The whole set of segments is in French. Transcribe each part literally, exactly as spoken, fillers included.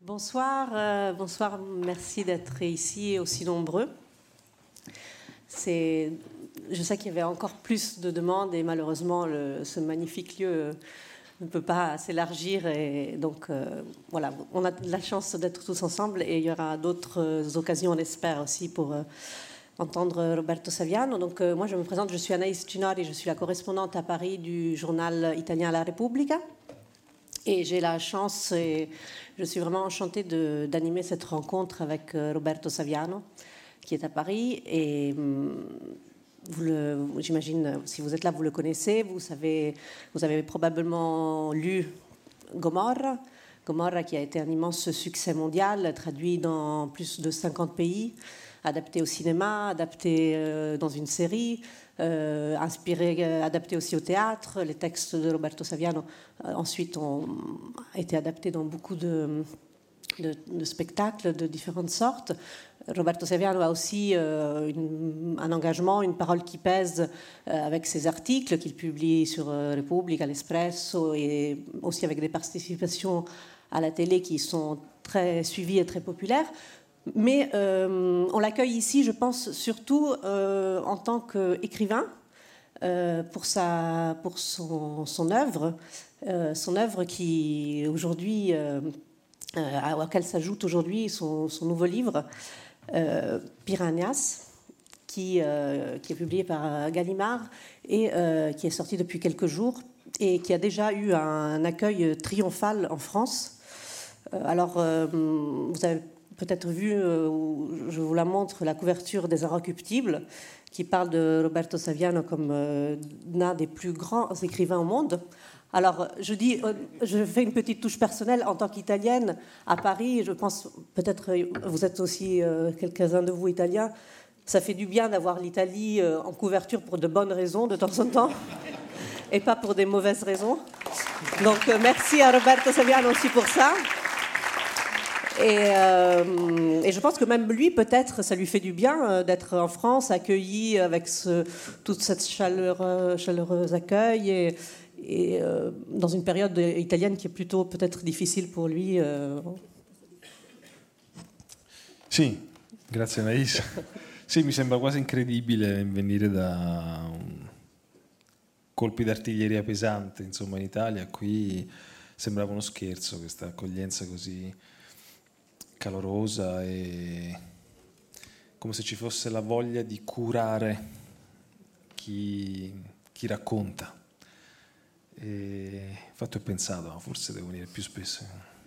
Bonsoir, euh, bonsoir, merci d'être ici aussi nombreux. C'est, je sais qu'il y avait encore plus de demandes et malheureusement le, ce magnifique lieu euh, ne peut pas s'élargir et donc euh, voilà, on a de la chance d'être tous ensemble et il y aura d'autres occasions, on espère aussi, pour euh, entendre Roberto Saviano. Donc euh, moi je me présente, je suis Anaïs Cinori, je suis la correspondante à Paris du journal italien La Repubblica. Et j'ai la chance, et je suis vraiment enchantée de, d'animer cette rencontre avec Roberto Saviano, qui est à Paris. Et vous le, j'imagine, si vous êtes là, vous le connaissez. Vous savez, vous avez probablement lu Gomorra. Gomorra, qui a été un immense succès mondial, traduit dans plus de cinquante pays, adapté au cinéma, adapté euh, dans une série. Euh, inspiré, euh, adapté aussi au théâtre. Les textes de Roberto Saviano euh, ensuite ont été adaptés dans beaucoup de, de, de spectacles de différentes sortes. Roberto Saviano a aussi euh, une, un engagement, une parole qui pèse euh, avec ses articles qu'il publie sur euh, Repubblica, l'Espresso et aussi avec des participations à la télé qui sont très suivies et très populaires. Mais euh, on l'accueille ici, je pense, surtout euh, en tant qu'écrivain euh, pour, sa, pour son, son œuvre, euh, son œuvre qui aujourd'hui, euh, euh, à laquelle s'ajoute aujourd'hui son, son nouveau livre, euh, Piranhas, qui, euh, qui est publié par Gallimard et euh, qui est sorti depuis quelques jours et qui a déjà eu un accueil triomphal en France. Euh, alors, euh, vous avez peut-être vu, euh, je vous la montre, la couverture des Inrecuptibles, qui parle de Roberto Saviano comme euh, l'un des plus grands écrivains au monde. Alors, je dis, euh, je fais une petite touche personnelle en tant qu'italienne à Paris. Je pense, peut-être, vous êtes aussi euh, quelques-uns de vous italiens. Ça fait du bien d'avoir l'Italie euh, en couverture pour de bonnes raisons de temps en temps, et pas pour des mauvaises raisons. Donc, euh, merci à Roberto Saviano aussi pour ça. Et, euh, et je pense que même lui, peut-être, ça lui fait du bien euh, d'être en France, accueilli avec ce, toute cette chaleur, chaleureux accueil et, et euh, dans une période italienne qui est plutôt peut-être difficile pour lui. Euh... Sì, grazie Anaïs. Sì, mi sembra quasi incredibile venire da un colpi d'artiglieria pesante, insomma, in Italia. Qui sembrava uno scherzo questa accoglienza così calorosa e come se ci fosse la voglia di curare chi, chi racconta. E infatti ho pensato, forse devo venire più spesso.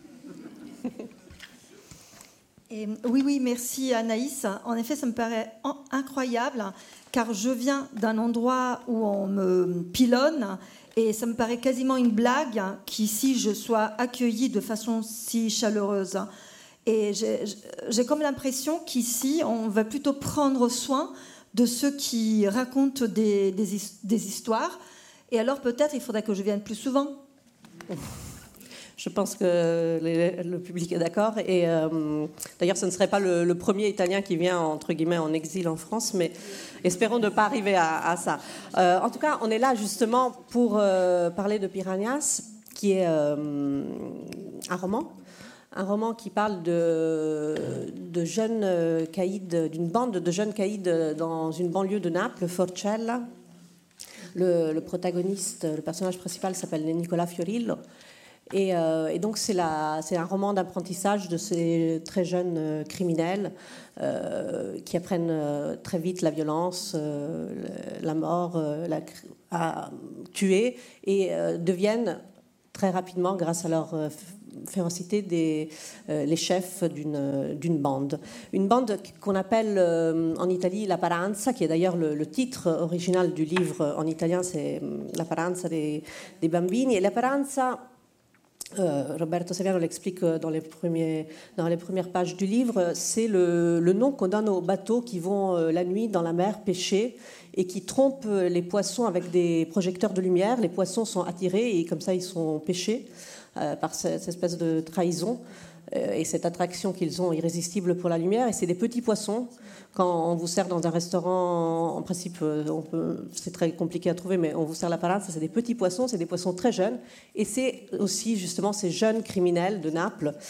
Et, oui, oui, merci Anaïs. En effet, ça me paraît incroyable car je viens d'un endroit où on me pilonne et ça me paraît quasiment une blague qu'ici je sois accueillie de façon si chaleureuse. Et j'ai, j'ai comme l'impression qu'ici, on va plutôt prendre soin de ceux qui racontent des, des, des histoires. Et alors, peut-être, il faudrait que je vienne plus souvent. Je pense que les, le public est d'accord. Et euh, d'ailleurs, ce ne serait pas le, le premier Italien qui vient, entre guillemets, en exil en France. Mais espérons ne pas arriver à, à ça. Euh, en tout cas, on est là, justement, pour euh, parler de Piranhas, qui est euh, un roman. Un roman qui parle de, de jeunes caïds, d'une bande de jeunes caïds dans une banlieue de Naples, Forcella. Le, le protagoniste, le personnage principal s'appelle Nicola Fiorillo. Et, euh, et donc c'est, la, c'est un roman d'apprentissage de ces très jeunes criminels euh, qui apprennent euh, très vite la violence, euh, la mort, euh, la, à tuer et euh, deviennent très rapidement, grâce à leur euh, férocité, des, euh, les chefs d'une, d'une bande. Une bande qu'on appelle euh, en Italie la Paranza, qui est d'ailleurs le, le titre original du livre en italien, c'est La Paranza dei, dei Bambini. Et la Paranza, euh, Roberto Saviano l'explique dans les, premiers, dans les premières pages du livre, c'est le, le nom qu'on donne aux bateaux qui vont euh, la nuit dans la mer pêcher et qui trompent les poissons avec des projecteurs de lumière. Les poissons sont attirés et comme ça ils sont pêchés euh, par cette espèce de trahison euh, et cette attraction qu'ils ont irrésistible pour la lumière. Et c'est des petits poissons. Quand on vous sert dans un restaurant, en principe, on peut, c'est très compliqué à trouver, mais on vous sert la parade, ça c'est des petits poissons, c'est des poissons très jeunes. Et c'est aussi justement ces jeunes criminels de Naples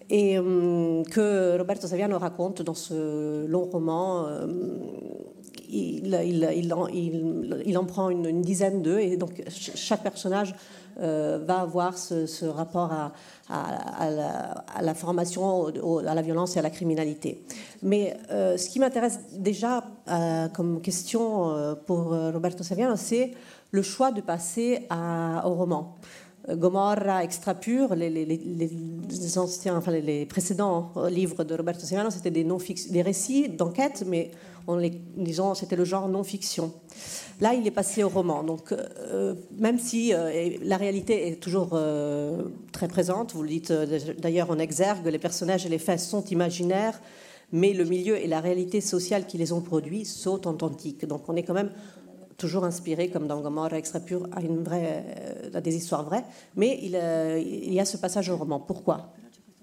et euh, que Roberto Saviano raconte dans ce long roman. Euh, il, il, il, en, il, il en prend une, une dizaine d'eux, et donc chaque personnage euh, va avoir ce, ce rapport à, à, à, la, à la formation, à la violence et à la criminalité. Mais euh, ce qui m'intéresse déjà euh, comme question euh, pour Roberto Saviano, c'est le choix de passer à, au roman. Gomorra, Extrapure, les, les, les, les, anciens, enfin les, les précédents livres de Roberto Saviano, c'était des, des récits d'enquête, mais on les, disons, c'était le genre non-fiction. Là, il est passé au roman. Donc, euh, même si euh, la réalité est toujours euh, très présente, vous le dites euh, d'ailleurs en exergue, les personnages et les faits sont imaginaires, mais le milieu et la réalité sociale qui les ont produits sont authentiques. Donc, on est quand même toujours inspiré, comme dans Gomorra, Extrapure, à, une vraie, à des histoires vraies, mais il, euh, il y a ce passage au roman. Pourquoi?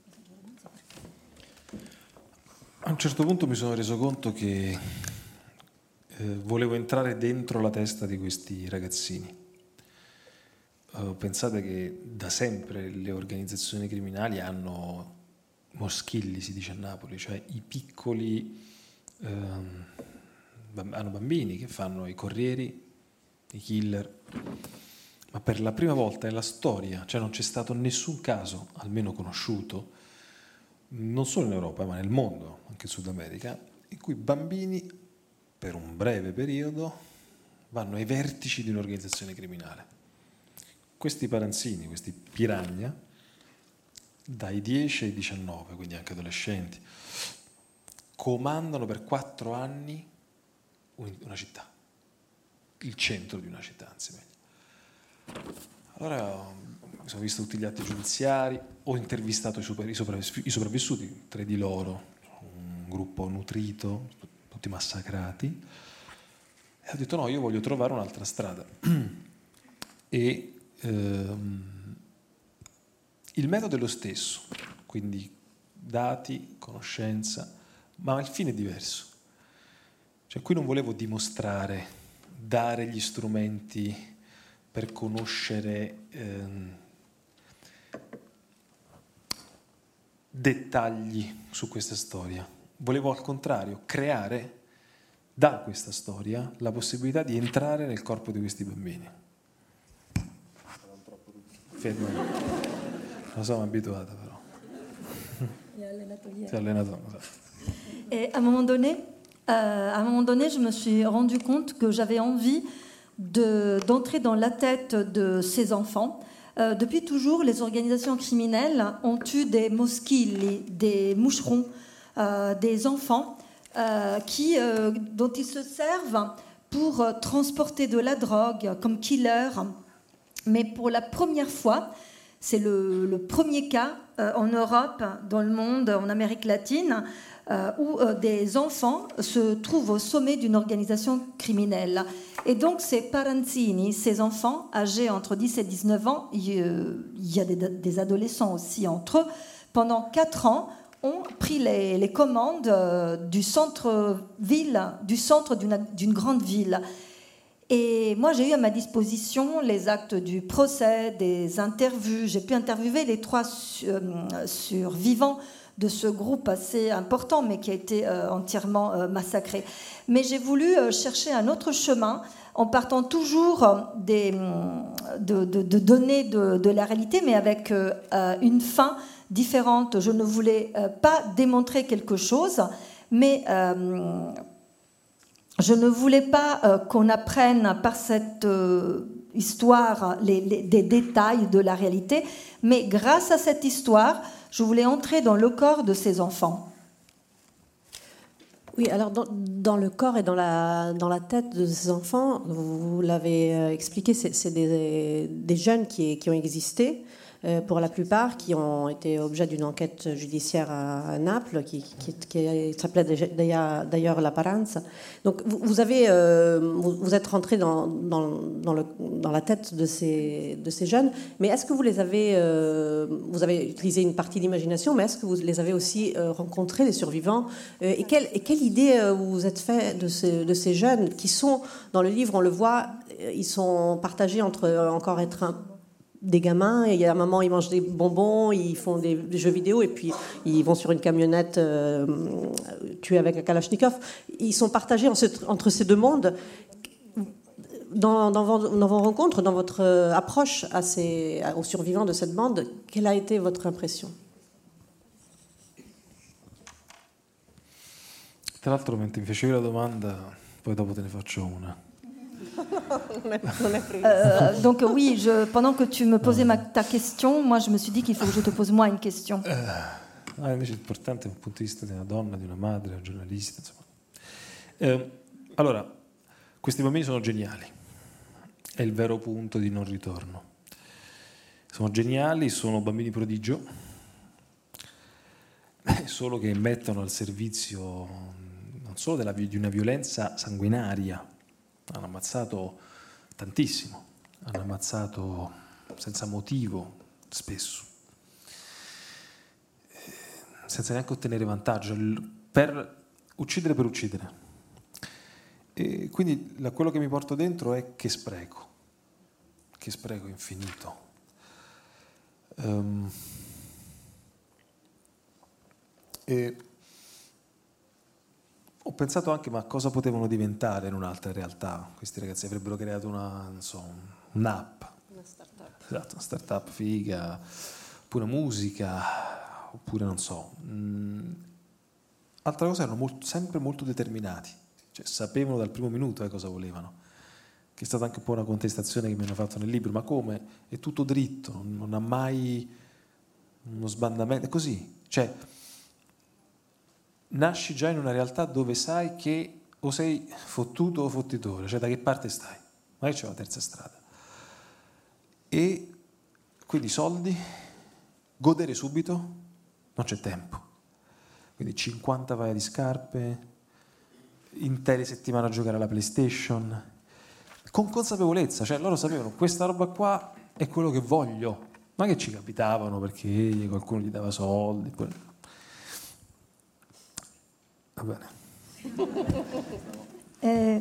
A un certo punto mi sono reso conto che eh, volevo entrare dentro la testa di questi ragazzini. Uh, pensate che da sempre le organizzazioni criminali hanno moschilli, si dice a Napoli, cioè i piccoli... Um, hanno bambini che fanno i corrieri, i killer, ma per la prima volta nella storia, cioè non c'è stato nessun caso, almeno conosciuto, non solo in Europa ma nel mondo, anche in Sud America, in cui bambini per un breve periodo vanno ai vertici di un'organizzazione criminale. Questi paranzini, questi piranha, dai dieci ai diciannove, quindi anche adolescenti, comandano per quattro anni una città, il centro di una città, anzi meglio. Allora mi sono visto tutti gli atti giudiziari, ho intervistato i, super, i, sopravviss- i sopravvissuti, tre di loro, un gruppo nutrito, tutti massacrati, e ho detto no, io voglio trovare un'altra strada. E ehm, il metodo è lo stesso, quindi dati, conoscenza, ma il fine è diverso. Cioè, qui non volevo dimostrare, dare gli strumenti per conoscere ehm, dettagli su questa storia. Volevo al contrario creare da questa storia la possibilità di entrare nel corpo di questi bambini. Fermo. Non sono abituata però. Si è allenato. Et à un moment donné, Euh, à un moment donné, je me suis rendu compte que j'avais envie de, d'entrer dans la tête de ces enfants. Euh, depuis toujours, les organisations criminelles ont eu des moschilli, des moucherons, euh, des enfants euh, qui, euh, dont ils se servent pour transporter de la drogue comme killer. Mais pour la première fois, c'est le, le premier cas euh, en Europe, dans le monde, en Amérique latine, Euh, où euh, des enfants se trouvent au sommet d'une organisation criminelle. Et donc ces paranzini, ces enfants âgés entre dix et dix-neuf ans, il y a des, des adolescents aussi entre eux, pendant quatre ans, ont pris les, les commandes euh, du centre-ville, du centre d'une, d'une grande ville. Et moi, j'ai eu à ma disposition les actes du procès, des interviews. J'ai pu interviewer les trois euh, survivants de ce groupe assez important, mais qui a été euh, entièrement euh, massacré. Mais j'ai voulu euh, chercher un autre chemin, en partant toujours des, de, de, de données de, de la réalité, mais avec euh, une fin différente. Je ne voulais euh, pas démontrer quelque chose, mais euh, je ne voulais pas euh, qu'on apprenne par cette euh, histoire les, les, des détails de la réalité, mais grâce à cette histoire, je voulais entrer dans le corps de ces enfants. Oui, alors dans, dans le corps et dans la, dans la tête de ces enfants, vous, vous l'avez expliqué, c'est, c'est des, des jeunes qui, qui ont existé, euh, pour la plupart, qui ont été objet d'une enquête judiciaire à, à Naples, qui, qui, qui s'appelait d'ailleurs, d'ailleurs La Paranza. Donc vous, vous, avez, euh, vous, vous êtes rentré dans, dans, dans, le, dans la tête de ces, de ces jeunes, mais est-ce que vous les avez, euh, vous avez utilisé une partie d'imagination, mais est-ce que vous les avez aussi euh, rencontrés, les survivants, euh, et, quelle, et quelle idée euh, vous vous êtes fait de ces, de ces jeunes qui sont, dans le livre, on le voit, ils sont partagés entre encore être un des gamins, et il y a un moment, ils mangent des bonbons, ils font des, des jeux vidéo, et puis ils vont sur une camionnette euh, tuée avec un Kalachnikov. Ils sont partagés en ce, entre ces deux mondes. Dans, dans, vos, dans vos rencontres, dans votre approche à ces, aux survivants de cette bande, quelle a été votre impression? Tra l'altro, mentre mi facevi la domanda, poi dopo te ne faccio una. Euh, donc oui, je, pendant que tu me posais ma, ta question, moi je me suis dit qu'il faut que je te pose moi une question. Uh, ah, invece è importante dal punto di vista di una donna, di una madre, una giornalista, insomma. Eh, allora, questi bambini sono geniali, è il vero punto di non ritorno. Sono geniali, sono bambini prodigio, solo che mettono al servizio non solo della, di una violenza sanguinaria. Hanno ammazzato tantissimo, hanno ammazzato senza motivo spesso, senza neanche ottenere vantaggio, per uccidere per uccidere. E quindi la, quello che mi porto dentro è che spreco, che spreco infinito. Um, e ho pensato anche, ma cosa potevano diventare in un'altra realtà? Questi ragazzi avrebbero creato una, non so, un'app. Una start-up. Esatto, una start-up figa, oppure musica, oppure non so. Mm. Altra cosa, erano molto, sempre molto determinati. Cioè, sapevano dal primo minuto eh, cosa volevano. Che è stata anche un po' una contestazione che mi hanno fatto nel libro. Ma come? È tutto dritto, non, non ha mai uno sbandamento. È così. Cioè, nasci già in una realtà dove sai che o sei fottuto o fottitore, cioè da che parte stai, ma c'è la terza strada. E quindi soldi, godere subito, non c'è tempo. Quindi cinquanta paia di scarpe, intere settimane a giocare alla PlayStation, con consapevolezza, cioè loro sapevano questa roba qua è quello che voglio, ma che ci capitavano perché qualcuno gli dava soldi. Poi... Euh,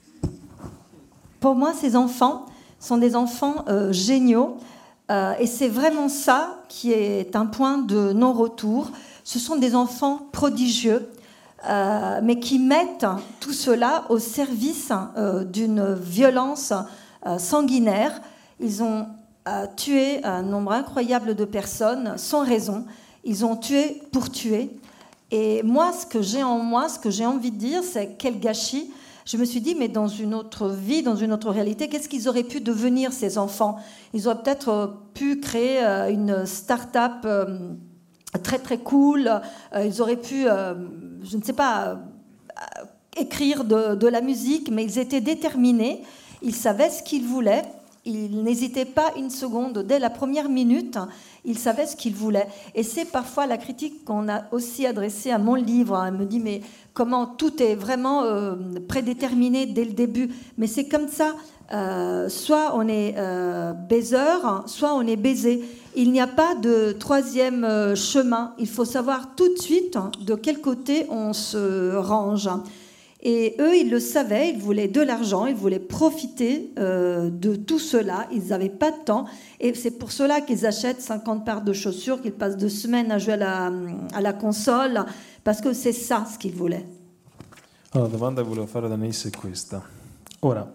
pour moi, ces enfants sont des enfants euh, géniaux euh, et c'est vraiment ça qui est un point de non-retour. Ce sont des enfants prodigieux, euh, mais qui mettent tout cela au service euh, d'une violence euh, sanguinaire. Ils ont euh, tué un nombre incroyable de personnes sans raison. Ils ont tué pour tuer. Et moi, ce que j'ai en moi, ce que j'ai envie de dire, c'est quel gâchis. Je me suis dit, mais dans une autre vie, dans une autre réalité, qu'est-ce qu'ils auraient pu devenir, ces enfants? Ils auraient peut-être pu créer une start-up très très cool. Ils auraient pu, je ne sais pas, écrire de, de la musique, mais ils étaient déterminés. Ils savaient ce qu'ils voulaient. Ils n'hésitaient pas une seconde. Dès la première minute, ils savaient ce qu'ils voulaient. Et c'est parfois la critique qu'on a aussi adressée à mon livre. Elle me dit, mais comment tout est vraiment euh, prédéterminé dès le début? Mais c'est comme ça. Euh, soit on est euh, baiseur, soit on est baisé. Il n'y a pas de troisième euh, chemin. Il faut savoir tout de suite de quel côté on se range. Et eux, ils le savaient, ils voulaient de l'argent, ils voulaient profiter euh, de tout cela. Ils n'avaient pas de temps. Et c'est pour cela qu'ils achètent cinquante paires de chaussures, qu'ils passent deux semaines à jouer à la, à la console, parce que c'est ça ce qu'ils voulaient. Allora, la domanda che volevo fare ad Anaïs è questa. Ora,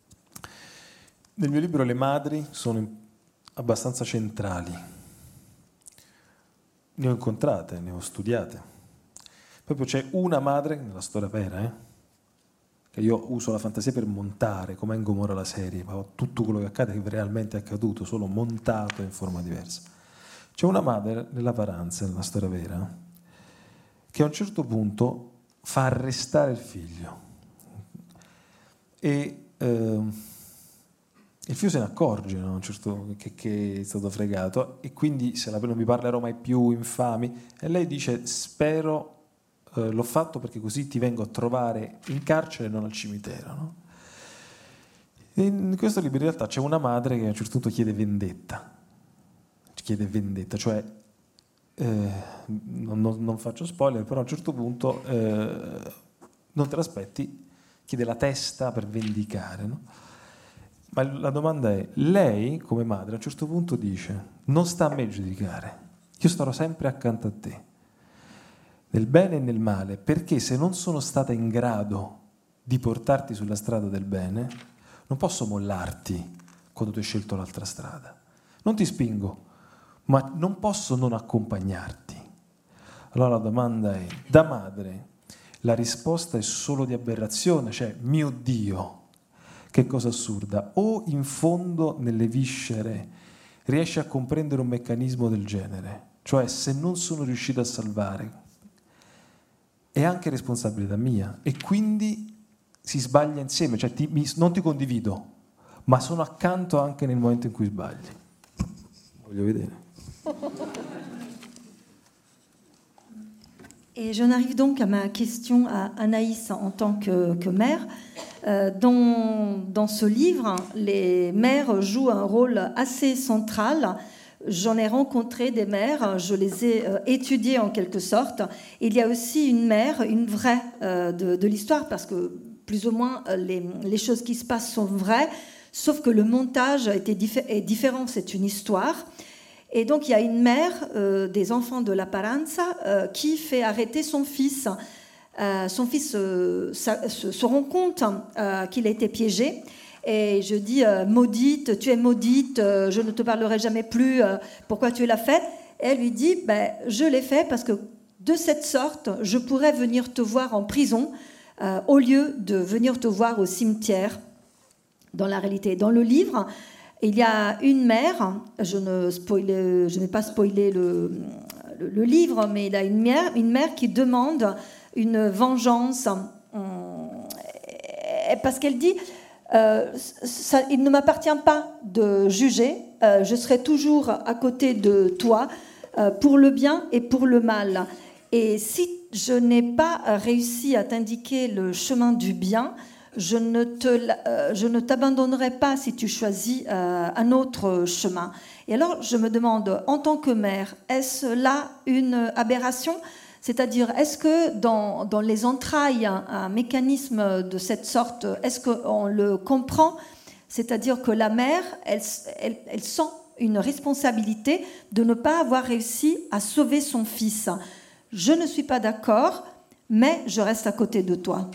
nel mio libro le madri sono abbastanza centrali. Ne ho incontrate, ne ho studiate. Proprio c'è una madre, nella storia vera, eh? Io uso la fantasia per montare, come in Gomorra la serie, ma tutto quello che accade che realmente è accaduto, solo montato in forma diversa. C'è una madre nella Paranza, nella storia vera, che a un certo punto fa arrestare il figlio. E eh, il figlio se ne accorge, no? A un certo, che, che è stato fregato, e quindi se la, non mi parlerò mai più, infami, e lei dice, spero... l'ho fatto perché così ti vengo a trovare in carcere e non al cimitero, no? In questo libro in realtà c'è una madre che a un certo punto chiede vendetta, chiede vendetta, cioè eh, non, non, non faccio spoiler, però a un certo punto eh, non te l'aspetti, chiede la testa per vendicare, no? Ma la domanda è, lei come madre a un certo punto dice, non sta a me giudicare, io starò sempre accanto a te, nel bene e nel male, perché se non sono stata in grado di portarti sulla strada del bene, non posso mollarti quando tu hai scelto l'altra strada. Non ti spingo, ma non posso non accompagnarti. Allora la domanda è, da madre, la risposta è solo di aberrazione, cioè, mio Dio, che cosa assurda, o in fondo nelle viscere riesce a comprendere un meccanismo del genere, cioè se non sono riuscito a salvare è anche responsabilità mia e quindi si sbaglia insieme, cioè ti, mi, non ti condivido, ma sono accanto anche nel momento in cui sbagli. Voglio vedere. Et j'en arrive donc à ma question à Anaïs en tant que, que mère. Euh, dans, dans ce livre, les mères jouent un rôle assez central. J'en ai rencontré des mères, je les ai euh, étudiées en quelque sorte. Il y a aussi une mère, une vraie euh, de, de l'histoire, parce que plus ou moins les, les choses qui se passent sont vraies, sauf que le montage a été diffé- est différent, c'est une histoire. Et donc, il y a une mère euh, des enfants de la Paranza euh, qui fait arrêter son fils. Euh, son fils euh, sa, se, se rend compte euh, qu'il a été piégé. Et je dis, euh, maudite, tu es maudite, euh, je ne te parlerai jamais plus, euh, pourquoi tu l'as fait? Et elle lui dit, ben, je l'ai fait parce que de cette sorte, je pourrais venir te voir en prison euh, au lieu de venir te voir au cimetière. Dans la réalité, dans le livre, il y a une mère, je ne, spoil, je n'ai pas spoilé le, le, le livre, mais il y a une mère, une mère qui demande une vengeance parce qu'elle dit euh, ça, il ne m'appartient pas de juger, euh, je serai toujours à côté de toi euh, pour le bien et pour le mal. Et si je n'ai pas réussi à t'indiquer le chemin du bien, je ne, te, euh, je ne t'abandonnerai pas si tu choisis euh, un autre chemin. Et alors, je me demande, en tant que mère, est-ce là une aberration ? C'est-à-dire, est-ce que dans, dans les entrailles, un, un mécanisme de cette sorte, est-ce qu'on le comprend ? C'est-à-dire que la mère, elle, elle, elle sent une responsabilité de ne pas avoir réussi à sauver son fils. Je ne suis pas d'accord, mais je reste à côté de toi.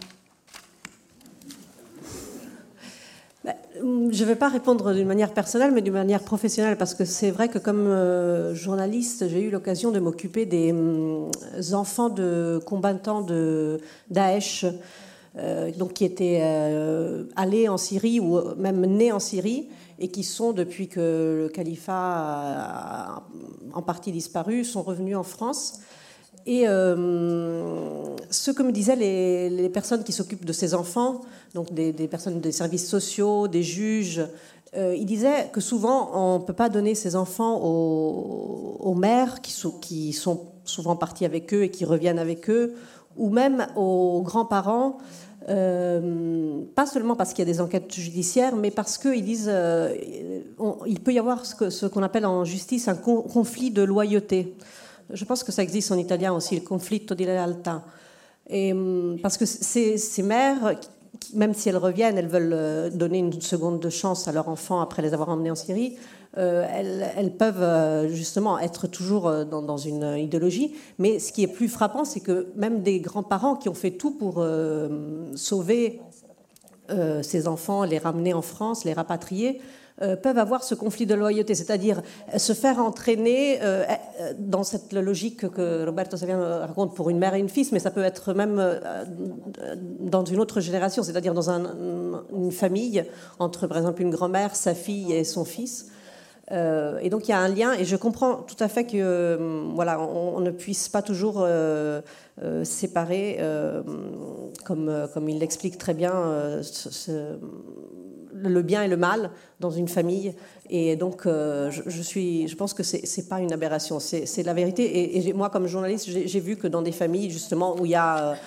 Je ne vais pas répondre d'une manière personnelle, mais d'une manière professionnelle, parce que c'est vrai que comme euh, journaliste, j'ai eu l'occasion de m'occuper des euh, enfants de combattants de Daesh, euh, donc qui étaient euh, allés en Syrie ou même nés en Syrie, et qui sont, depuis que le califat a en partie disparu, sont revenus en France. Et euh, ce que me disaient les, les personnes qui s'occupent de ces enfants, donc des, des personnes des services sociaux, des juges, euh, ils disaient que souvent on ne peut pas donner ces enfants aux, aux mères qui sont, qui sont souvent parties avec eux et qui reviennent avec eux, ou même aux grands-parents, euh, pas seulement parce qu'il y a des enquêtes judiciaires, mais parce qu'ils disent euh, on, il peut y avoir ce, que, ce qu'on appelle en justice un con, conflit de loyauté. Je pense que ça existe en italien aussi, le conflitto di lealtà. Et, parce que ces, ces mères, même si elles reviennent, elles veulent donner une seconde chance à leurs enfants après les avoir emmenés en Syrie, euh, elles, elles peuvent justement être toujours dans, dans une idéologie. Mais ce qui est plus frappant, c'est que même des grands-parents qui ont fait tout pour euh, sauver euh, ces enfants, les ramener en France, les rapatrier, Euh, peuvent avoir ce conflit de loyauté, c'est-à-dire se faire entraîner euh, dans cette logique que Roberto Saviano raconte pour une mère et une fils, mais ça peut être même euh, dans une autre génération, c'est-à-dire dans un, une famille entre, par exemple, une grand-mère, sa fille et son fils. Euh, et donc il y a un lien, et je comprends tout à fait que euh, voilà, on, on ne puisse pas toujours euh, euh, séparer, euh, comme, comme il l'explique très bien, euh, ce, ce, le bien et le mal dans une famille. Et donc euh, je, je, suis, je pense que c'est, c'est pas une aberration, c'est, c'est la vérité. Et, et moi, comme journaliste, j'ai, j'ai vu que dans des familles justement où il y a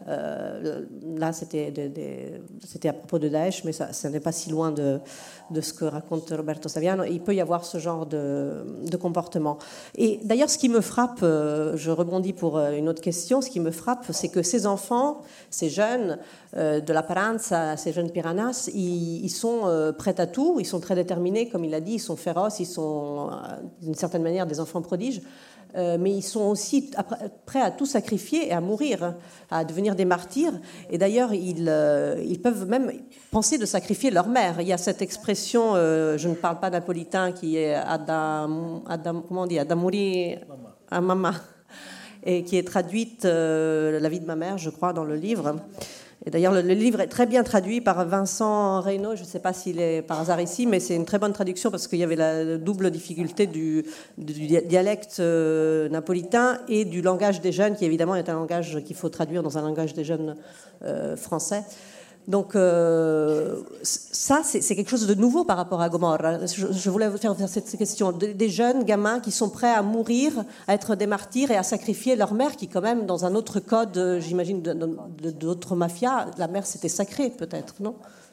Euh, là, c'était, de, de, c'était à propos de Daesh, mais ça, ça n'est pas si loin de, de ce que raconte Roberto Saviano. Il peut y avoir ce genre de, de comportement. Et d'ailleurs, ce qui me frappe, euh, je rebondis pour une autre question, ce qui me frappe, c'est que ces enfants, ces jeunes euh, de la Paranza, ces jeunes piranhas, ils, ils sont euh, prêts à tout, ils sont très déterminés, comme il l'a dit, ils sont féroces, ils sont euh, d'une certaine manière des enfants prodiges. Euh, mais ils sont aussi prêts à tout sacrifier et à mourir, à devenir des martyrs. Et d'ailleurs, ils, euh, ils peuvent même penser de sacrifier leur mère. Il y a cette expression, euh, je ne parle pas napolitain, qui est Adam, Adam, comment on dit, Adamuri a Mama, et qui est traduite euh, La vie de ma mère, je crois, dans le livre. Et d'ailleurs, le, le livre est très bien traduit par Vincent Reynaud. Je ne sais pas s'il est par hasard ici, mais c'est une très bonne traduction parce qu'il y avait la double difficulté du, du dialecte euh, napolitain et du langage des jeunes, qui évidemment est un langage qu'il faut traduire dans un langage des jeunes euh, français. Donc euh, ça, c'est, c'est quelque chose de nouveau par rapport à Gomorra. Je, je voulais vous faire cette question. Des jeunes gamins qui sont prêts à mourir, à être des martyrs et à sacrifier leur mère, qui quand même, dans un autre code, j'imagine, de, de, d'autres mafias, la mère c'était sacré peut-être, non?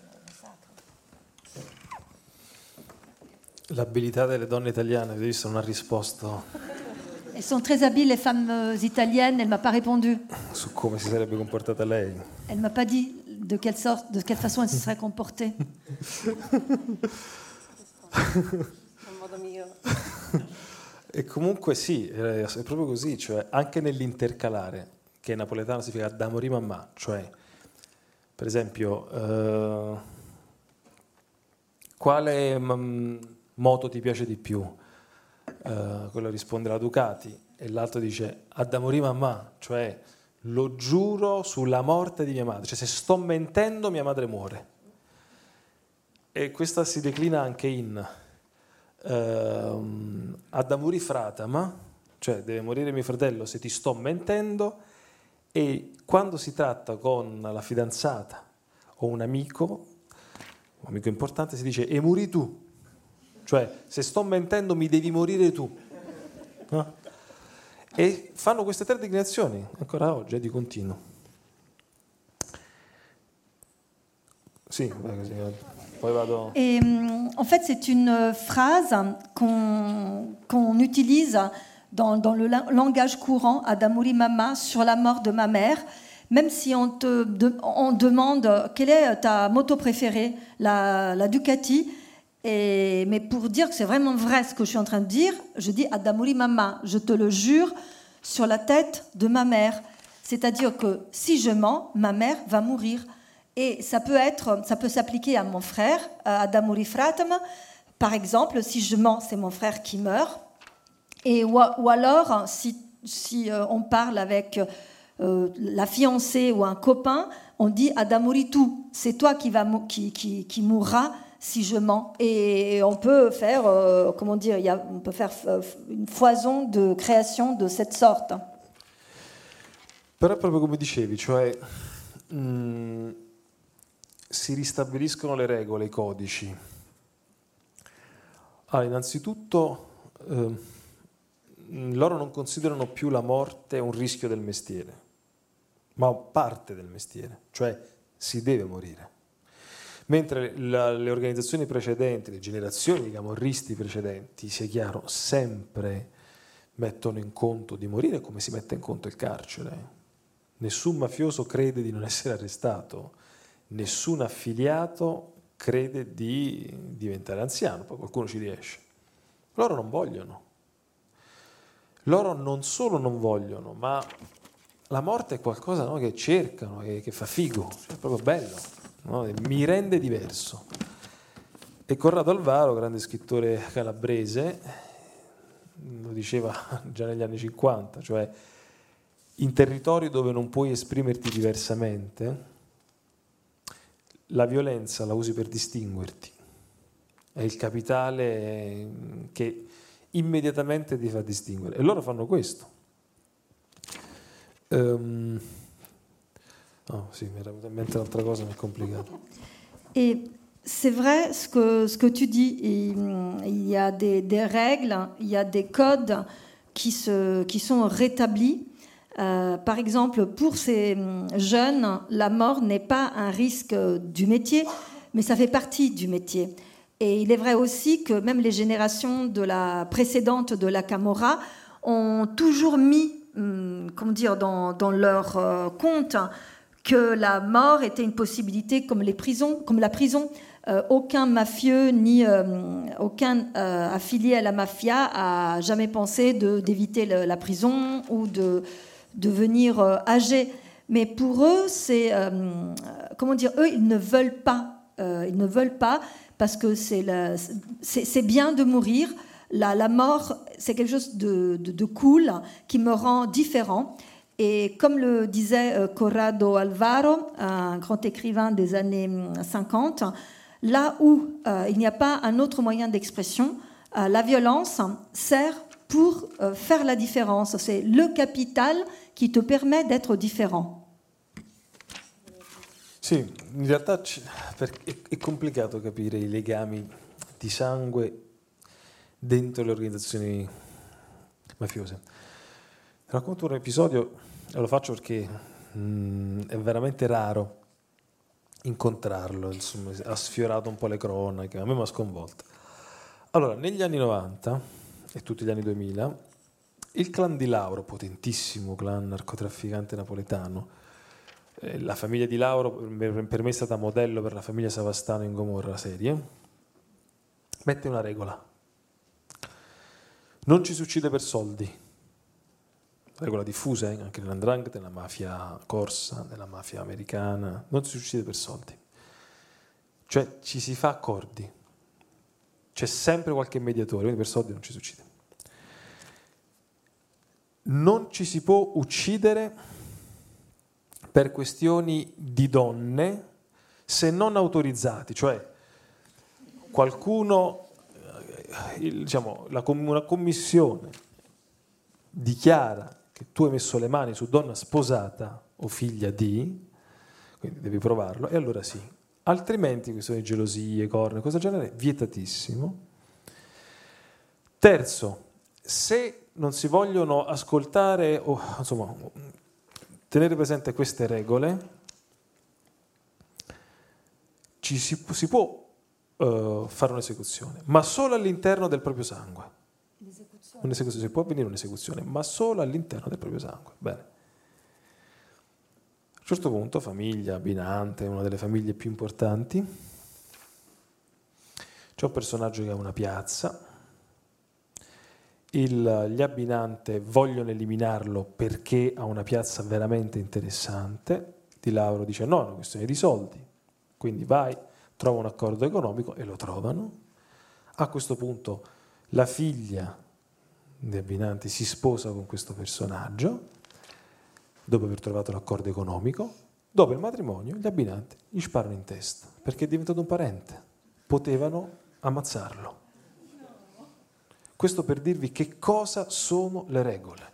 L'abilità delle donne italiane, avete visto, non ha risposto. Elles sont très habiles, les femmes italiennes. Elle ne m'a pas répondu. Su come si sarebbe comportata lei. Elle ne m'a pas dit de quelle sorte, de quelle façon elle se serait comportée. E comunque sì, è proprio così, cioè anche nell'intercalare, che in napoletano significa da morì mamma, cioè per esempio eh, quale m- moto ti piace di più? Uh, quello risponde la Ducati e l'altro dice ad morì mamma, cioè lo giuro sulla morte di mia madre, cioè se sto mentendo mia madre muore. E questa si declina anche in uh, ad morì fratama, cioè deve morire mio fratello se ti sto mentendo, e quando si tratta con la fidanzata o un amico, un amico importante, si dice e muri tu. Cioè, se sto mentendo mi devi morire tu. No? E fanno queste tre declinazioni, ancora oggi, è di continuo. Sì, così, poi vado... Et, en fait, c'est une phrase qu'on, qu'on utilise dans, dans le langage courant, Adamuri Mama, sur la mort de ma mère. Même si on te de, on demande quelle est ta moto préférée, la, la Ducati. Et, mais pour dire que c'est vraiment vrai ce que je suis en train de dire, je dis Adamuri Mama, je te le jure sur la tête de ma mère. C'est-à-dire que si je mens, ma mère va mourir. Et ça peut être, ça peut s'appliquer à mon frère, à Adamuri Fratam. Par exemple, si je mens, c'est mon frère qui meurt. Et, ou, ou alors, si, si euh, on parle avec euh, la fiancée ou un copain, on dit Adamuri tu, c'est toi qui, va, qui, qui, qui mourras si je mens. Et on peut faire, euh, comment dire, y a, on peut faire une foison de création de cette sorte. Però proprio come dicevi, cioè mh, si ristabiliscono le regole, i codici. Allora, innanzitutto eh, loro non considerano più la morte un rischio del mestiere, ma parte del mestiere, cioè si deve morire. Mentre la, le organizzazioni precedenti, le generazioni di camorristi precedenti, sia chiaro, sempre mettono in conto di morire come si mette in conto il carcere. Nessun mafioso crede di non essere arrestato, nessun affiliato crede di diventare anziano, poi qualcuno ci riesce. Loro non vogliono. Loro non solo non vogliono, ma la morte è qualcosa, no, che cercano, che, che fa figo, cioè è proprio bello. No? Mi rende diverso. E Corrado Alvaro, grande scrittore calabrese, lo diceva già negli anni cinquanta, cioè in territori dove non puoi esprimerti diversamente, la violenza la usi per distinguerti, è il capitale che immediatamente ti fa distinguere, e loro fanno questo. Um, Oh, si, mi era venuta in mente un'altra cosa, ma è complicato. Et c'est vrai ce que, ce que tu dis. Et, il y a des, des règles, il y a des codes qui, se, qui sont rétablis. Euh, par exemple, pour ces jeunes, la mort n'est pas un risque du métier, mais ça fait partie du métier. Et il est vrai aussi que même les générations de la précédente de la Camorra ont toujours mis, hum, comment dire, dans, dans leur euh, compte que la mort était une possibilité comme les prisons, comme la prison. Euh, aucun mafieux ni euh, aucun euh, affilié à la mafia a jamais pensé de, d'éviter le, la prison ou de devenir euh, âgé. Mais pour eux, c'est euh, comment dire, eux, ils ne veulent pas, euh, ils ne veulent pas parce que c'est, la, c'est, c'est bien de mourir. La, la mort, c'est quelque chose de, de, de cool qui me rend différent. Et comme le disait euh, Corrado Alvaro, un grand écrivain des années cinquante, là où euh, il n'y a pas un autre moyen d'expression, euh, la violence sert pour euh, faire la différence. C'est le capital qui te permet d'être différent. Sì, in realtà è complicato capire i legami di sangue dentro le organizzazioni mafiose. Racconto un episodio, e lo faccio perché mh, è veramente raro incontrarlo, insomma, ha sfiorato un po' le cronache, a me mi ha sconvolto. Allora, negli anni novanta e tutti gli anni duemila, il clan di Lauro, potentissimo clan narcotrafficante napoletano, eh, la famiglia di Lauro per me è stata modello per la famiglia Savastano in Gomorra serie, mette una regola: non ci si uccide per soldi. Regola diffusa eh, anche nell'andrangheta, nella mafia corsa, nella mafia americana, non si uccide per soldi. Cioè ci si fa accordi, c'è sempre qualche mediatore, quindi per soldi non ci si uccide. Non ci si può uccidere per questioni di donne se non autorizzati, cioè qualcuno, il, diciamo, la, una commissione dichiara che tu hai messo le mani su donna sposata o figlia di, quindi devi provarlo, e allora sì. Altrimenti questioni di gelosie, corna, cosa del genere, vietatissimo. Terzo, se non si vogliono ascoltare o insomma tenere presente queste regole, ci si, si può uh, fare un'esecuzione, ma solo all'interno del proprio sangue. Un'esecuzione, si può avvenire un'esecuzione, ma solo all'interno del proprio sangue. Bene. A un certo punto, famiglia Binante, una delle famiglie più importanti, c'è un personaggio che ha una piazza, il, gli Abbinante vogliono eliminarlo perché ha una piazza veramente interessante. Di Lauro dice no, è una questione di soldi, quindi vai, trova un accordo economico, e lo trovano. A questo punto la figlia di Abbinanti si sposa con questo personaggio dopo aver trovato l'accordo economico. Dopo il matrimonio gli Abbinanti gli sparano in testa perché è diventato un parente, potevano ammazzarlo. Questo per dirvi che cosa sono le regole.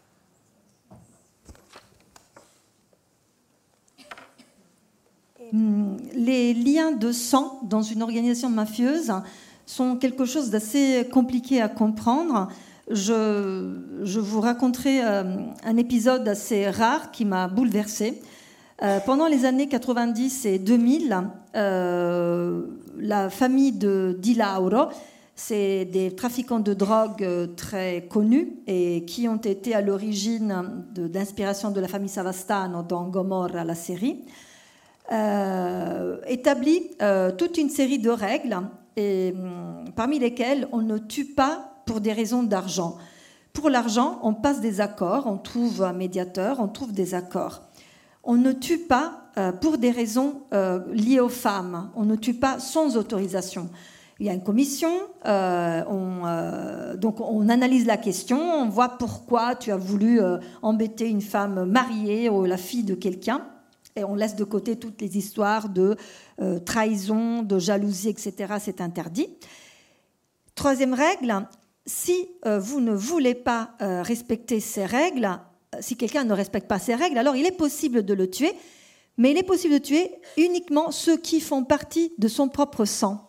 Les liens de sang dans une organisation mafieuse sont quelque chose d'assez compliqué à comprendre. Je, je vous raconterai euh, un épisode assez rare qui m'a bouleversée. Euh, pendant les années quatre-vingt-dix et deux mille, euh, la famille de Di Lauro, c'est des trafiquants de drogue très connus et qui ont été à l'origine de, d'inspiration de la famille Savastano dans Gomorra, la série, euh, établit euh, toute une série de règles, et, parmi lesquelles on ne tue pas pour des raisons d'argent. Pour l'argent, on passe des accords, on trouve un médiateur, on trouve des accords. On ne tue pas euh, pour des raisons euh, liées aux femmes, on ne tue pas sans autorisation. Il y a une commission, euh, on, euh, donc on analyse la question, on voit pourquoi tu as voulu euh, embêter une femme mariée ou la fille de quelqu'un, et on laisse de côté toutes les histoires de euh, trahison, de jalousie, et cetera. C'est interdit. Troisième règle, si euh, vous ne voulez pas euh, respecter ces règles, si quelqu'un ne respecte pas ces règles, alors il est possible de le tuer, mais il est possible de tuer uniquement ceux qui font partie de son propre sang.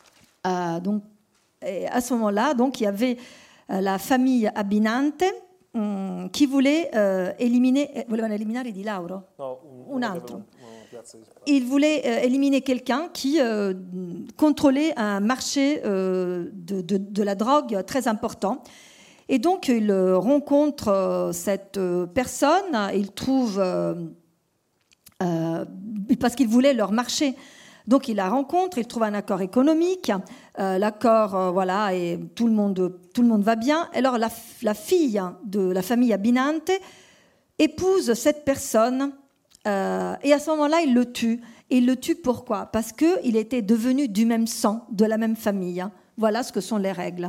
Euh, donc, et à ce moment-là, donc, il y avait euh, la famille Abbinante mh, qui voulait euh, éliminer, eh, volevano eliminare Di Lauro? No, un, un altro. Il voulait euh, éliminer quelqu'un qui euh, contrôlait un marché euh, de, de, de la drogue très important. Et donc, il rencontre euh, cette euh, personne, il trouve, euh, euh, parce qu'il voulait leur marché. Donc, il la rencontre, il trouve un accord économique, euh, l'accord, euh, voilà, et tout le monde, tout le monde va bien. Alors, la, la fille de la famille Abinante épouse cette personne. Euh, et à ce moment-là, il le tue. Et il le tue pourquoi? Parce qu'il était devenu du même sang, de la même famille. Voilà ce que sont les règles.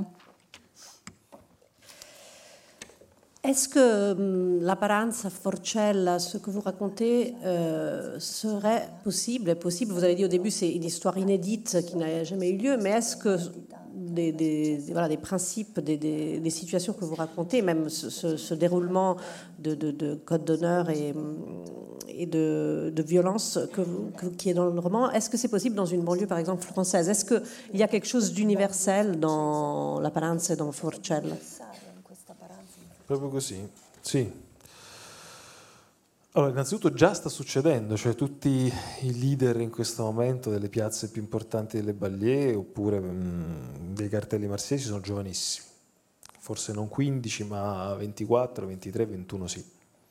Est-ce que la Paranza, Forcella, ce que vous racontez euh, serait possible, est possible? Vous avez dit au début c'est une histoire inédite qui n'a jamais eu lieu, mais est-ce que des, des, voilà, des principes, des, des, des situations que vous racontez, même ce, ce, ce déroulement de, de, de code d'honneur et, et de, de violence que vous, que, qui est dans le roman, est-ce que c'est possible dans une banlieue par exemple française? Est-ce qu'il y a quelque chose d'universel dans la Paranza et dans Forcella? Proprio così, sì. Allora, innanzitutto già sta succedendo, cioè tutti i leader in questo momento delle piazze più importanti delle banlieue oppure mh, dei cartelli marsiesi sono giovanissimi, forse non quindici ma ventiquattro, ventitré, ventuno sì.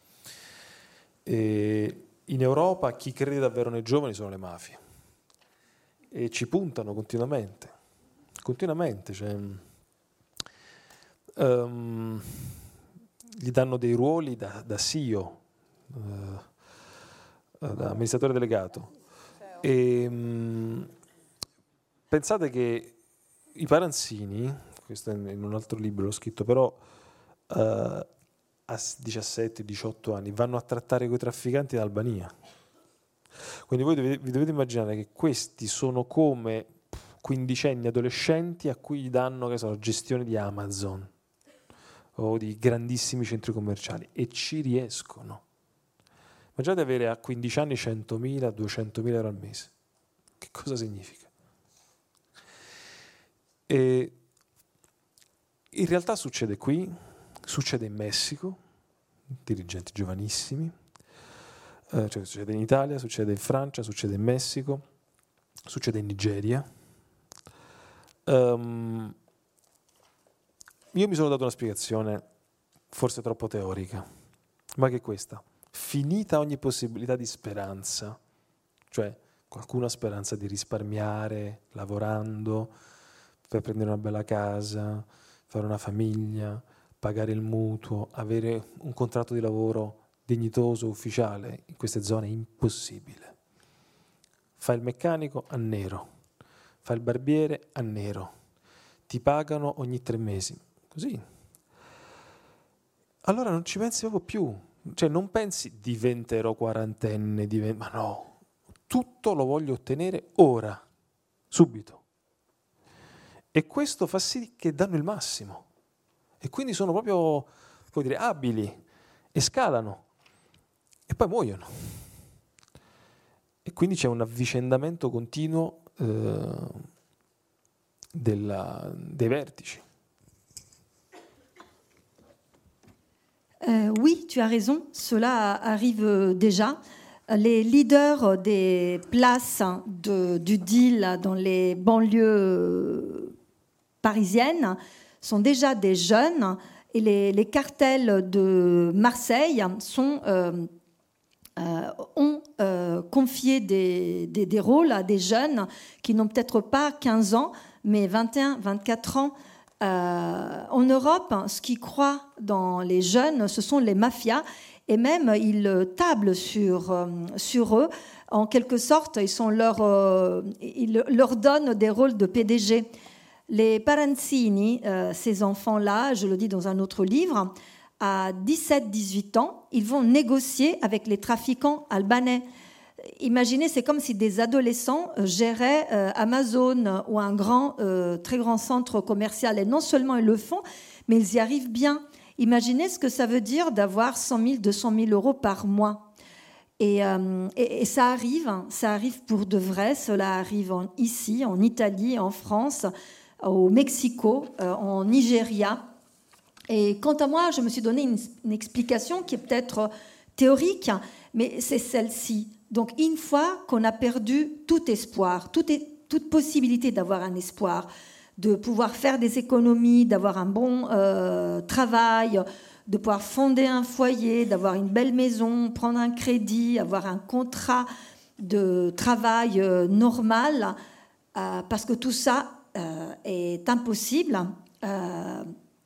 E in Europa chi crede davvero nei giovani sono le mafie e ci puntano continuamente, continuamente, cioè... Um, gli danno dei ruoli da, da C E O, uh, da amministratore delegato. E, um, pensate che i Paranzini, questo è in un altro libro, l'ho scritto, però uh, a diciassette diciotto anni vanno a trattare coi trafficanti in Albania. Quindi voi dovete, vi dovete immaginare che questi sono come quindicenni adolescenti a cui gli danno, che so, la gestione di Amazon o di grandissimi centri commerciali e ci riescono. Immaginate avere a quindici anni centomila, duecentomila euro al mese. Che cosa significa? E in realtà succede qui, succede in Messico, dirigenti giovanissimi, eh, cioè succede in Italia, succede in Francia, succede in Messico, succede in Nigeria. Um, Io mi sono dato una spiegazione, forse troppo teorica, ma che è questa. Finita ogni possibilità di speranza, cioè qualcuno ha speranza di risparmiare, lavorando, per prendere una bella casa, fare una famiglia, pagare il mutuo, avere un contratto di lavoro dignitoso, ufficiale, in queste zone è impossibile. Fai il meccanico a nero, fai il barbiere a nero, ti pagano ogni tre mesi. Così. Allora non ci pensi proprio più. Cioè non pensi diventerò quarantenne, divent... ma no. Tutto lo voglio ottenere ora, subito. E questo fa sì che danno il massimo. E quindi sono proprio, puoi dire, abili e scalano. E poi muoiono. E quindi c'è un avvicendamento continuo eh, della, dei vertici. Euh, oui, tu as raison, cela arrive déjà. Les leaders des places de, du deal dans les banlieues parisiennes sont déjà des jeunes et les, les cartels de Marseille sont, euh, euh, ont euh, confié des, des, des rôles à des jeunes qui n'ont peut-être pas quinze ans, mais vingt et un, vingt-quatre ans. Euh, en Europe, ce qui croit dans les jeunes, ce sont les mafias, et même ils tablent sur, euh, sur eux. En quelque sorte, ils, sont leur, euh, ils leur donnent des rôles de P D G. Les Paranzini, euh, ces enfants-là, je le dis dans un autre livre, à dix-sept dix-huit ans, ils vont négocier avec les trafiquants albanais. Imaginez, c'est comme si des adolescents géraient euh, Amazon ou un grand, euh, très grand centre commercial. Et non seulement ils le font, mais ils y arrivent bien. Imaginez ce que ça veut dire d'avoir cent mille, deux cent mille euros par mois. Et, euh, et, et ça arrive, ça arrive pour de vrai. Cela arrive en, ici, en Italie, en France, au Mexico, euh, en Nigeria. Et quant à moi, je me suis donné une, une explication qui est peut-être théorique, mais c'est celle-ci. Donc, une fois qu'on a perdu tout espoir, toute, toute possibilité d'avoir un espoir, de pouvoir faire des économies, d'avoir un bon euh, travail, de pouvoir fonder un foyer, d'avoir une belle maison, prendre un crédit, avoir un contrat de travail euh, normal, euh, parce que tout ça euh, est impossible. Euh,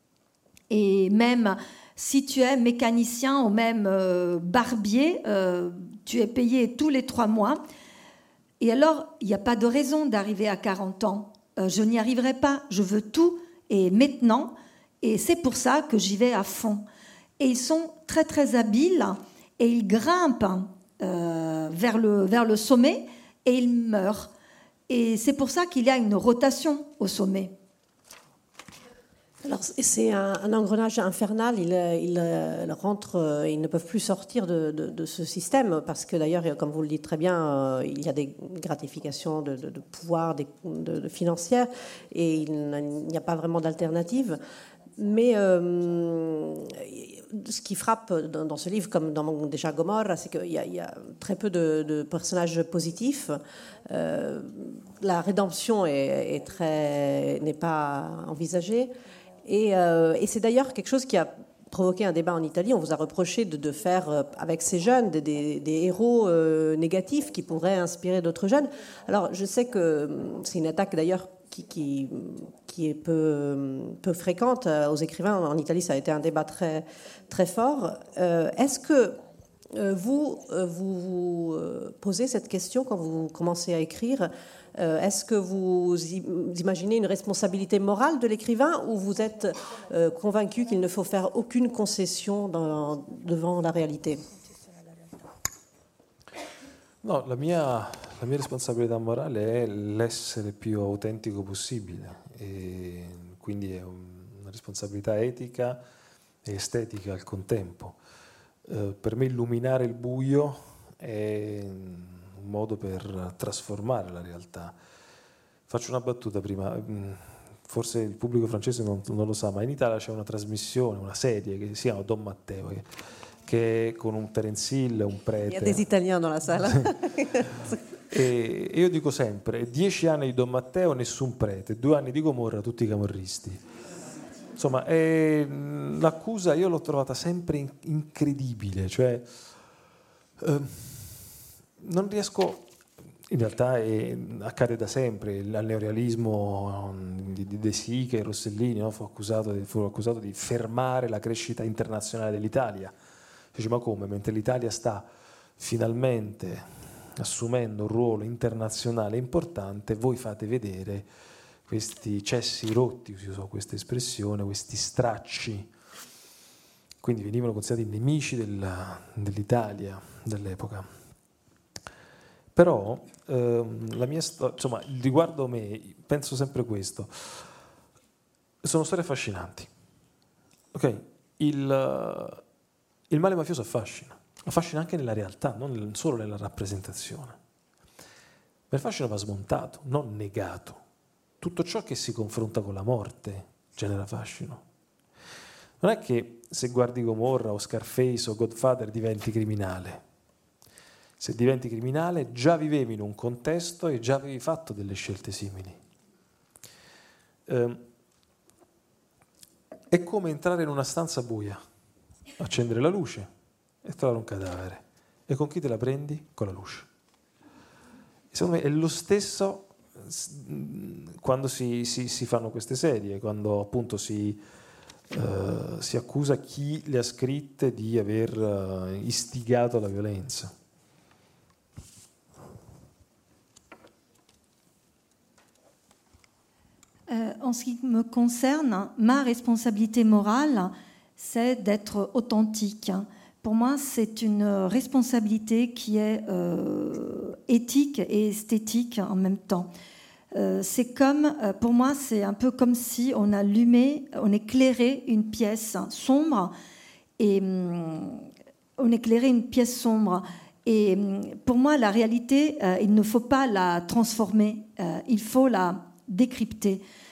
et même si tu es mécanicien ou même euh, barbier, euh, tu es payé tous les trois mois. Et alors, il n'y a pas de raison d'arriver à quarante ans. Euh, je n'y arriverai pas. Je veux tout et maintenant. Et c'est pour ça que j'y vais à fond. Et ils sont très, très habiles et ils grimpent euh, vers, le, vers le sommet et ils meurent. Et c'est pour ça qu'il y a une rotation au sommet. Alors, c'est un, un engrenage infernal. Ils, ils, ils rentrent, ils ne peuvent plus sortir de, de, de ce système parce que d'ailleurs, comme vous le dites très bien, il y a des gratifications de, de, de pouvoir de, de, de financières et il n'y a pas vraiment d'alternative. Mais euh, ce qui frappe dans, dans ce livre, comme dans déjà Gomorra, c'est qu'il y, y a très peu de, de personnages positifs. Euh, la rédemption est, est très, n'est pas envisagée. Et, euh, et c'est d'ailleurs quelque chose qui a provoqué un débat en Italie. On vous a reproché de, de faire euh, avec ces jeunes des, des, des héros euh, négatifs qui pourraient inspirer d'autres jeunes. Alors je sais que c'est une attaque d'ailleurs qui, qui, qui est peu, peu fréquente aux écrivains. En Italie, ça a été un débat très, très fort. Euh, est-ce que euh, vous, vous vous posez cette question quand vous commencez à écrire ? Est-ce que vous imaginez une responsabilité morale de l'écrivain ou vous êtes euh, convaincu qu'il ne faut faire aucune concession dans, devant la réalité ? No, la mia, la mia responsabilità morale è l'essere più autentico possibile e quindi è una responsabilità etica e estetica al contempo. Eh, per me illuminare il buio è un modo per trasformare la realtà. Faccio una battuta prima, forse il pubblico francese non, non lo sa, ma in Italia c'è una trasmissione, una serie che si chiama Don Matteo, che, che è con un Terence Hill, un prete. Il y a des Italiens dans la salle. E io dico sempre, dieci anni di Don Matteo, nessun prete, due anni di Gomorra, tutti i camorristi. Insomma, è, l'accusa io l'ho trovata sempre incredibile, cioè... Eh, non riesco, in realtà è, accade da sempre, il neorealismo di, di De Sica e Rossellini, no? fu, accusato di, fu accusato di fermare la crescita internazionale dell'Italia. Dice, ma come? Mentre l'Italia sta finalmente assumendo un ruolo internazionale importante, voi fate vedere questi cessi rotti, si usò questa espressione, questi stracci. Quindi venivano considerati nemici della, dell'Italia dell'epoca. Però ehm, la mia storia, insomma, riguardo me, penso sempre questo. Sono storie affascinanti. Ok? Il, il male mafioso affascina. Affascina anche nella realtà, non solo nella rappresentazione. Ma il fascino va smontato, non negato. Tutto ciò che si confronta con la morte genera fascino. Non è che se guardi Gomorra o Scarface o Godfather diventi criminale. Se diventi criminale già vivevi in un contesto e già avevi fatto delle scelte simili. Eh, è come entrare in una stanza buia, accendere la luce e trovare un cadavere. E con chi te la prendi? Con la luce. Secondo me è lo stesso quando si, si, si fanno queste serie, quando appunto si, uh, si accusa chi le ha scritte di aver uh, istigato la violenza. Euh, en ce qui me concerne, ma responsabilité morale, c'est d'être authentique. Pour moi, c'est une responsabilité qui est euh, éthique et esthétique en même temps. Euh, c'est comme, pour moi, c'est un peu comme si on allumait, on éclairait une pièce sombre et hum, on éclairait une pièce sombre. Et hum, pour moi, la réalité, euh, il ne faut pas la transformer, euh, il faut la décrypter.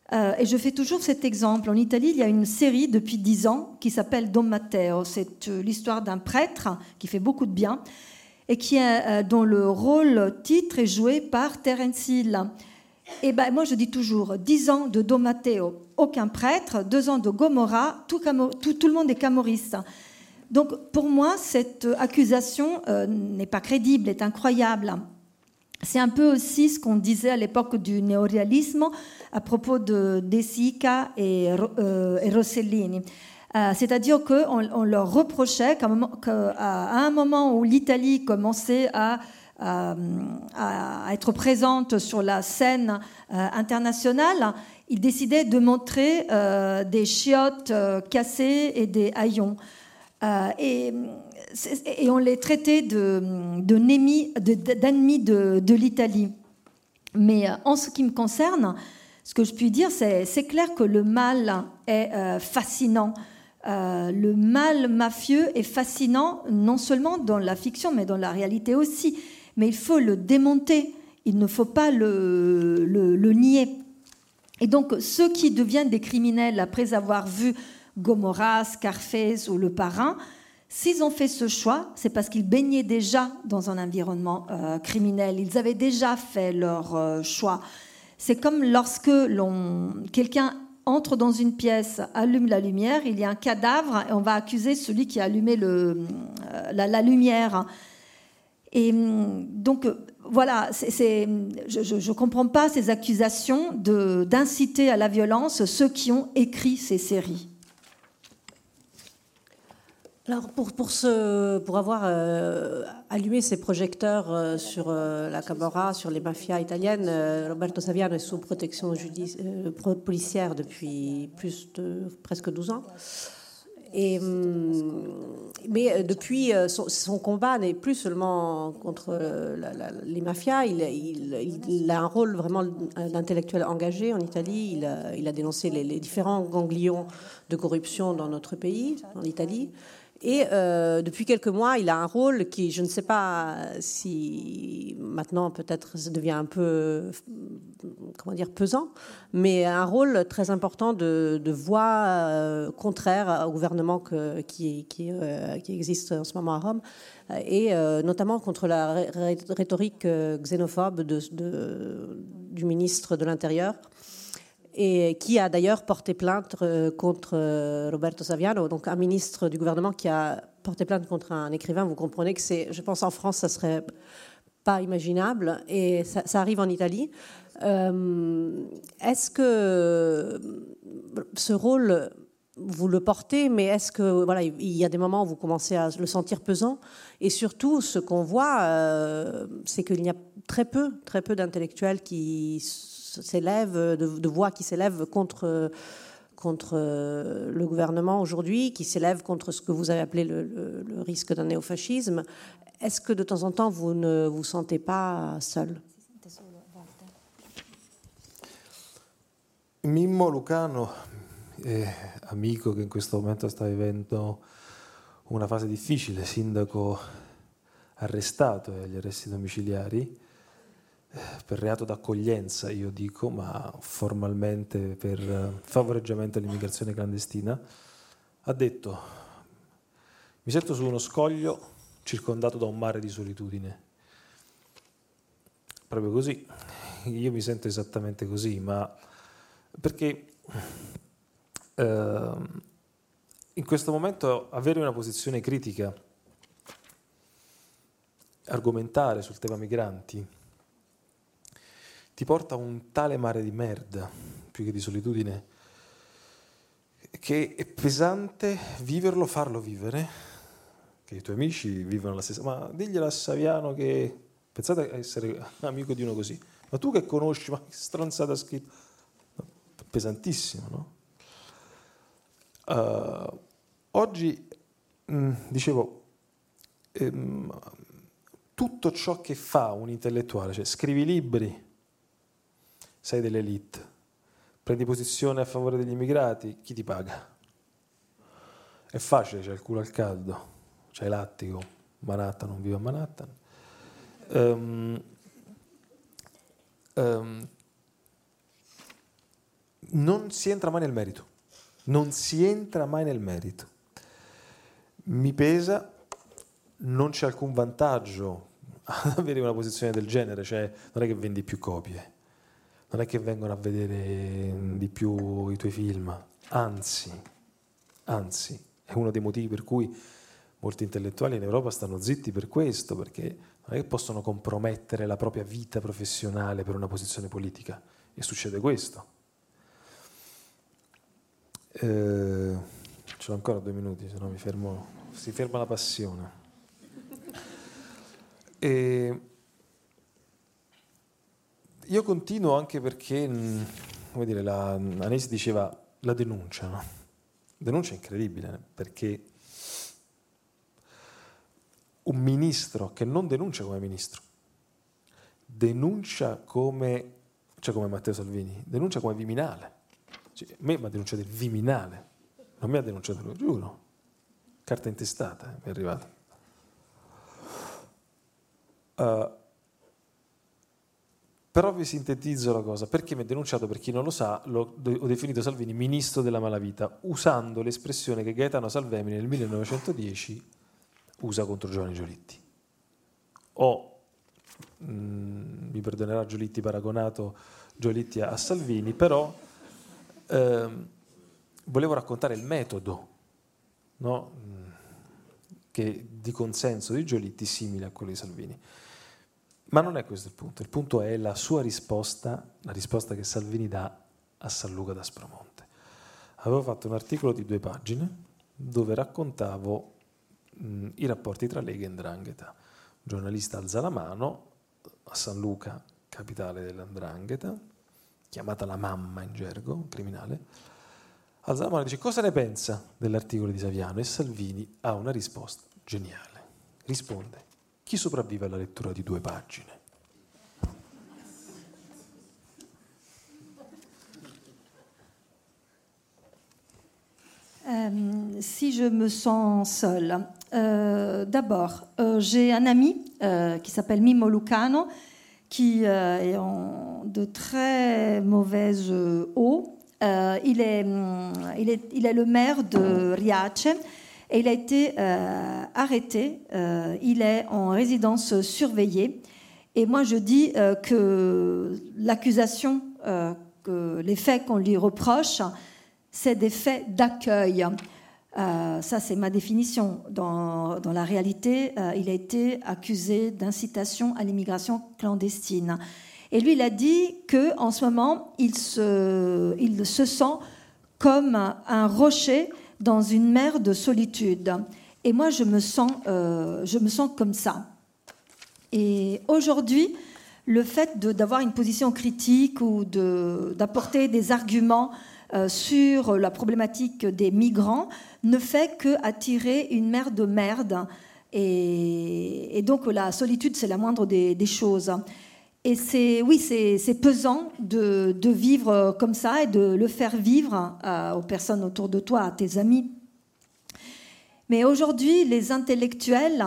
Euh, et je fais toujours cet exemple. En Italie, il y a une série depuis dix ans qui s'appelle Don Matteo. C'est euh, l'histoire d'un prêtre qui fait beaucoup de bien et qui est, euh, dont le rôle titre est joué par Terence Hill. Et ben, moi, je dis toujours, dix ans de Don Matteo, aucun prêtre, deux ans de Gomorrah, tout, tout, tout le monde est camorriste. Donc, pour moi, cette accusation euh, n'est pas crédible, est incroyable. C'est un peu aussi ce qu'on disait à l'époque du néoréalisme à propos de De Sica et, euh, et Rossellini. Euh, c'est-à-dire qu'on on leur reprochait qu'à un moment, qu'à un moment où l'Italie commençait à, à, à être présente sur la scène euh, internationale, ils décidaient de montrer euh, des chiottes euh, cassées et des haillons. Euh, et, et on les traitait de, de némi, de, d'ennemis de, de l'Italie. Mais en ce qui me concerne, ce que je puis dire, c'est, c'est clair que le mal est euh, fascinant. Euh, le mal mafieux est fascinant non seulement dans la fiction, mais dans la réalité aussi. Mais il faut le démonter, il ne faut pas le, le, le nier. Et donc, ceux qui deviennent des criminels après avoir vu Gomorrah, Scarface ou Le Parrain, s'ils ont fait ce choix, c'est parce qu'ils baignaient déjà dans un environnement euh, criminel. Ils avaient déjà fait leur euh, choix. C'est comme lorsque l'on, quelqu'un entre dans une pièce, allume la lumière, il y a un cadavre et on va accuser celui qui a allumé le, euh, la, la lumière. Et donc, voilà, c'est, c'est, je ne comprends pas ces accusations de, d'inciter à la violence ceux qui ont écrit ces séries. Alors pour, pour, ce, pour avoir euh, allumé ces projecteurs euh, sur euh, la Camorra, sur les mafias italiennes, euh, Roberto Saviano est sous protection judici- euh, policière depuis plus de presque douze ans. Et, mais depuis, son, son combat n'est plus seulement contre la, la, les mafias, il, il, il a un rôle vraiment d'intellectuel engagé en Italie. Il a, il a dénoncé les, les différents ganglions de corruption dans notre pays, en Italie. Et euh, depuis quelques mois, il a un rôle qui, je ne sais pas si maintenant peut-être ça devient un peu, comment dire, pesant, mais un rôle très important de, de voix euh, contraire au gouvernement que, qui, qui, euh, qui existe en ce moment à Rome, et euh, notamment contre la ré- rhétorique xénophobe de, de, du ministre de l'Intérieur, et qui a d'ailleurs porté plainte contre Roberto Saviano, donc un ministre du gouvernement qui a porté plainte contre un écrivain. Vous comprenez que c'est, je pense en France, ça serait pas imaginable, et ça, ça arrive en Italie. Euh, est-ce que ce rôle, vous le portez, mais est-ce que voilà, il y a des moments où vous commencez à le sentir pesant, et surtout, ce qu'on voit, euh, c'est qu'il y a très peu, très peu d'intellectuels qui s'élèvent, de, de voix qui s'élèvent contre, contre le gouvernement aujourd'hui, qui s'élèvent contre ce que vous avez appelé le, le, le risque d'un néofascisme. Est-ce que de temps en temps, vous ne vous sentez pas seul? Mimmo Lucano, eh, amico che in questo momento sta vivendo una fase difficile, sindaco arrestato agli arresti domiciliari, per reato d'accoglienza, io dico, ma formalmente per favoreggiamento all'immigrazione clandestina, ha detto: mi sento su uno scoglio circondato da un mare di solitudine. Proprio così, io mi sento esattamente così, ma perché eh, in questo momento avere una posizione critica, argomentare sul tema migranti, ti porta a un tale mare di merda, più che di solitudine, che è pesante viverlo, farlo vivere, che i tuoi amici vivono la stessa... Ma diglielo a Saviano che... Pensate a essere amico di uno così. Ma tu che conosci, ma che stronzata ha scritto? Pesantissimo, no? Uh, oggi, mh, dicevo, ehm, tutto ciò che fa un intellettuale, cioè scrivi libri, sei dell'elite, prendi posizione a favore degli immigrati, chi ti paga? È facile, c'è il culo al caldo, c'è l'attico, Manhattan, non vivo a Manhattan. Um, um, non si entra mai nel merito, non si entra mai nel merito. Mi pesa, non c'è alcun vantaggio ad avere una posizione del genere, cioè non è che vendi più copie, non è che vengono a vedere di più i tuoi film, anzi, anzi, è uno dei motivi per cui molti intellettuali in Europa stanno zitti per questo, perché non è che possono compromettere la propria vita professionale per una posizione politica, e succede questo. Eh, ce l'ho ancora due minuti, se no mi fermo, si ferma la passione. E io continuo anche perché, come dire, la, Anais diceva la denuncia, no? La denuncia è incredibile, perché un ministro che non denuncia come ministro, denuncia come, cioè come Matteo Salvini, denuncia come Viminale. Cioè, a me mi ha denunciato il Viminale, non mi ha denunciato lui, giuro. Carta intestata, eh, mi è arrivata. Uh, però vi sintetizzo la cosa, perché mi ha denunciato, per chi non lo sa, lo, ho definito Salvini ministro della malavita, usando l'espressione che Gaetano Salvemini nel millenovecentodieci usa contro Giovanni Giolitti. Ho, mh, mi perdonerà Giolitti, paragonato Giolitti a Salvini, però ehm, volevo raccontare il metodo, no? Che di consenso di Giolitti simile a quello di Salvini. Ma non è questo il punto, il punto è la sua risposta, la risposta che Salvini dà a San Luca d'Aspromonte. Avevo fatto un articolo di due pagine dove raccontavo mh, i rapporti tra Lega e 'Ndrangheta. Un giornalista alza la mano a San Luca, capitale dell'Ndrangheta, chiamata la mamma in gergo, un criminale, alza la mano e dice: cosa ne pensa dell'articolo di Saviano? E Salvini ha una risposta geniale. Risponde: chi sopravvive alla lettura di due pagine? Euh, si je me sens seule, euh, d'abord, euh, j'ai un ami euh, qui s'appelle Mimmo Lucano, qui euh, est en de très mauvaise eau. Euh, il, est, il, est, il est le maire de Riace et il a été euh, arrêté. Euh, il est en résidence surveillée. Et moi, je dis euh, que l'accusation, euh, que les faits qu'on lui reproche, c'est des faits d'accueil. Euh, ça, c'est ma définition. Dans, dans la réalité, euh, il a été accusé d'incitation à l'immigration clandestine. Et lui, il a dit qu'en ce moment, il se, il se sent comme un rocher dans une mer de solitude. Et moi, je me sens, euh, je me sens comme ça. Et aujourd'hui, le fait de, d'avoir une position critique ou de, d'apporter des arguments euh, sur la problématique des migrants ne fait qu'attirer une mer de merde. Et, et donc, la solitude, c'est la moindre des, des choses. Et c'est, oui, c'est, c'est pesant de, de vivre comme ça et de le faire vivre à, aux personnes autour de toi, à tes amis. Mais aujourd'hui, les intellectuels,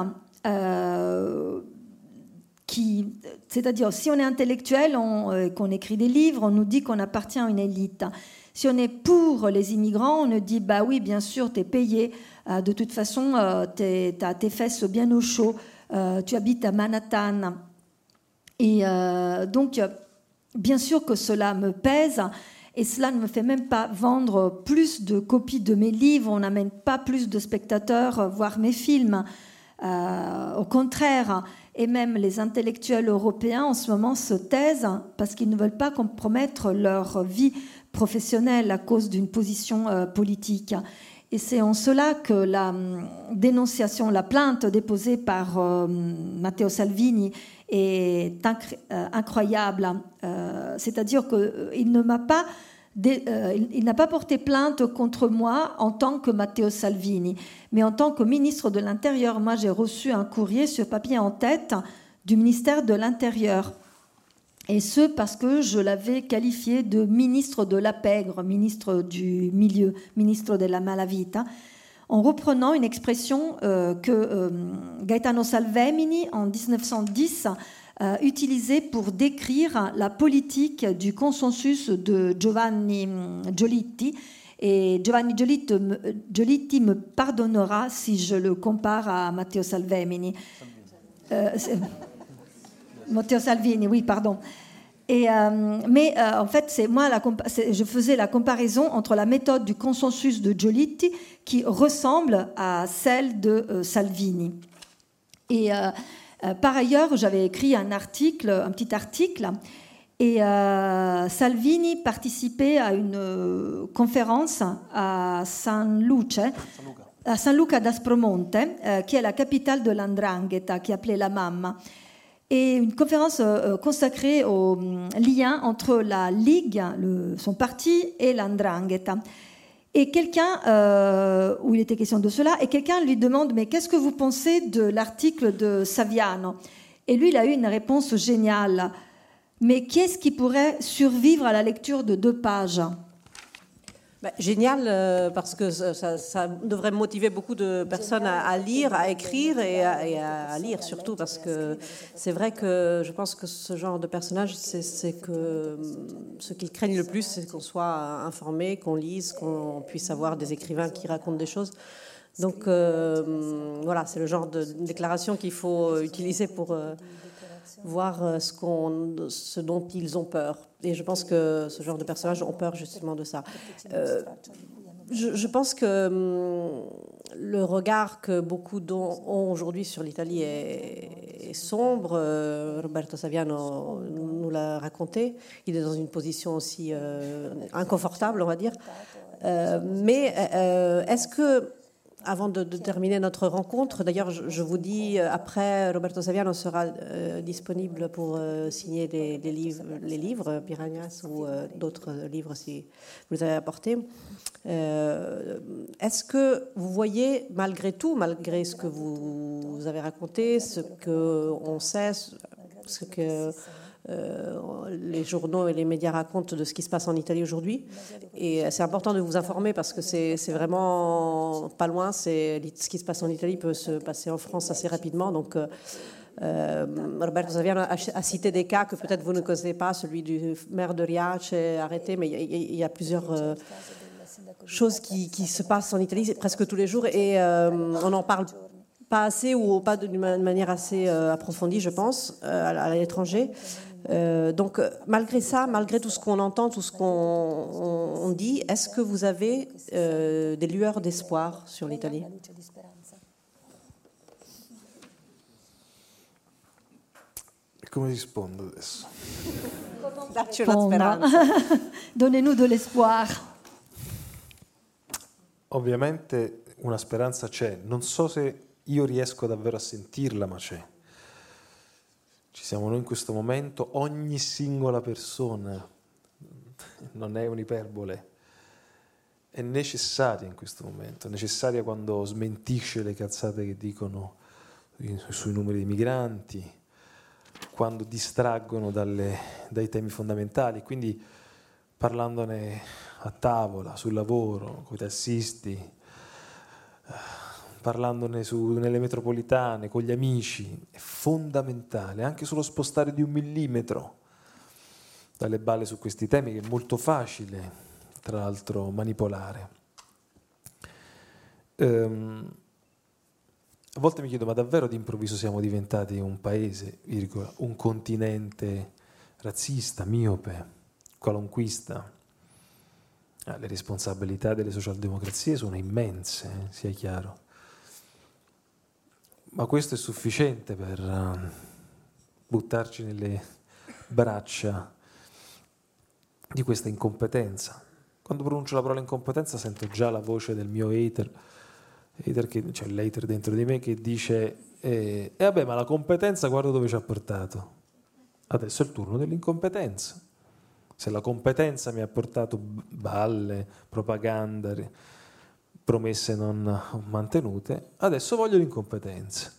euh, qui, c'est-à-dire si on est intellectuel, on, euh, qu'on écrit des livres, on nous dit qu'on appartient à une élite. Si on est pour les immigrants, on nous dit bah oui, bien sûr, t'es payé, euh, de toute façon, euh, t'as tes fesses bien au chaud, euh, tu habites à Manhattan. Et euh, donc, bien sûr que cela me pèse, et cela ne me fait même pas vendre plus de copies de mes livres, on n'amène pas plus de spectateurs voir mes films. Euh, au contraire, et même les intellectuels européens en ce moment se taisent parce qu'ils ne veulent pas compromettre leur vie professionnelle à cause d'une position euh, politique. Et c'est en cela que la dénonciation, la plainte déposée par euh, Matteo Salvini est incr- euh, incroyable. Euh, c'est-à-dire qu'il euh, ne m'a pas, dé- euh, il, il n'a pas porté plainte contre moi en tant que Matteo Salvini, mais en tant que ministre de l'Intérieur. Moi, j'ai reçu un courrier sur papier en tête du ministère de l'Intérieur. Et ce, parce que je l'avais qualifié de ministre de la pègre, ministre du milieu, ministre de la malavita, en reprenant une expression euh, que euh, Gaetano Salvemini, en dix-neuf cent dix, euh, utilisé pour décrire la politique du consensus de Giovanni Giolitti. Et Giovanni Giolitti, Giolitti me pardonnera si je le compare à Matteo Salvemini. Euh, Matteo Salvini, oui, pardon. Et, euh, mais euh, en fait, c'est moi, la compa- c'est, je faisais la comparaison entre la méthode du consensus de Giolitti qui ressemble à celle de euh, Salvini. Et euh, euh, par ailleurs, j'avais écrit un article, un petit article, et euh, Salvini participait à une euh, conférence à San Luce, à San Luca d'Aspromonte, euh, qui est la capitale de l'Andrangheta, qui est appelée la Mamma. Et une conférence euh, consacrée au euh, lien entre la Ligue, le, son parti, et l'Andrangheta. Et quelqu'un, euh, où il était question de cela, et quelqu'un lui demande « Mais qu'est-ce que vous pensez de l'article de Saviano ?» Et lui, il a eu une réponse géniale. « Mais qui est-ce qui pourrait survivre à la lecture de deux pages ?» Bah, génial, euh, parce que ça, ça, ça devrait motiver beaucoup de personnes à, à lire, à écrire et à, et à lire surtout, parce que c'est vrai que je pense que ce genre de personnage, c'est, c'est que ce qu'ils craignent le plus, c'est qu'on soit informé, qu'on lise, qu'on puisse avoir des écrivains qui racontent des choses. Donc euh, voilà, c'est le genre de déclaration qu'il faut utiliser pour euh, voir ce, qu'on, ce dont ils ont peur. Et je pense que ce genre de personnages ont peur justement de ça. Euh, je, je pense que hum, le regard que beaucoup ont aujourd'hui sur l'Italie est, est sombre. Euh, Roberto Saviano nous l'a raconté. Il est dans une position aussi euh, inconfortable, on va dire. Euh, mais euh, est-ce que... Avant de, de terminer notre rencontre, d'ailleurs, je, je vous dis, après, Roberto Saviano sera euh, disponible pour euh, signer les, les, livres, les livres, Piranhas ou euh, d'autres livres si vous avez apporté. Euh, est-ce que vous voyez, malgré tout, malgré ce que vous, vous avez raconté, ce qu'on sait, ce que... Euh, les journaux et les médias racontent de ce qui se passe en Italie aujourd'hui, et c'est important de vous informer parce que c'est, c'est vraiment pas loin. C'est, ce qui se passe en Italie peut se passer en France assez rapidement. Donc euh, Roberto Saviano a, a cité des cas que peut-être vous ne connaissez pas, celui du maire de Riace arrêté, mais il y, il y a plusieurs euh, choses qui, qui se passent en Italie presque tous les jours, et euh, on n'en parle pas assez ou pas d'une manière assez euh, approfondie, je pense, euh, à, à l'étranger. Euh, donc, malgré ça, malgré tout ce qu'on entend, tout ce qu'on on, on dit, est-ce que vous avez euh, des lueurs d'espoir sur l'Italie? Come rispondo adesso? Dacci una speranza. Donnez-nous de l'espoir. Ovviamente una speranza c'è. Non so se io riesco davvero a sentirla, ma c'è. Ci siamo noi in questo momento, ogni singola persona, non è un'iperbole, è necessaria in questo momento, è necessaria quando smentisce le cazzate che dicono sui numeri di migranti, quando distraggono dalle, dai temi fondamentali, quindi parlandone a tavola, sul lavoro, con i tassisti, parlandone su, nelle metropolitane, con gli amici, è fondamentale, anche sullo spostare di un millimetro dalle balle su questi temi, che è molto facile, tra l'altro, manipolare. Ehm, a volte mi chiedo, ma davvero d'improvviso siamo diventati un paese, virgola, un continente razzista, miope, qualunquista? Ah, le responsabilità delle socialdemocrazie sono immense, eh, sia chiaro. Ma questo è sufficiente per uh, buttarci nelle braccia di questa incompetenza. Quando pronuncio la parola incompetenza sento già la voce del mio hater, hater che, cioè l'hater dentro di me che dice eh, eh vabbè, ma la competenza guarda dove ci ha portato. Adesso è il turno dell'incompetenza. Se la competenza mi ha portato balle, propaganda, promesse non mantenute, adesso voglio l'incompetenza.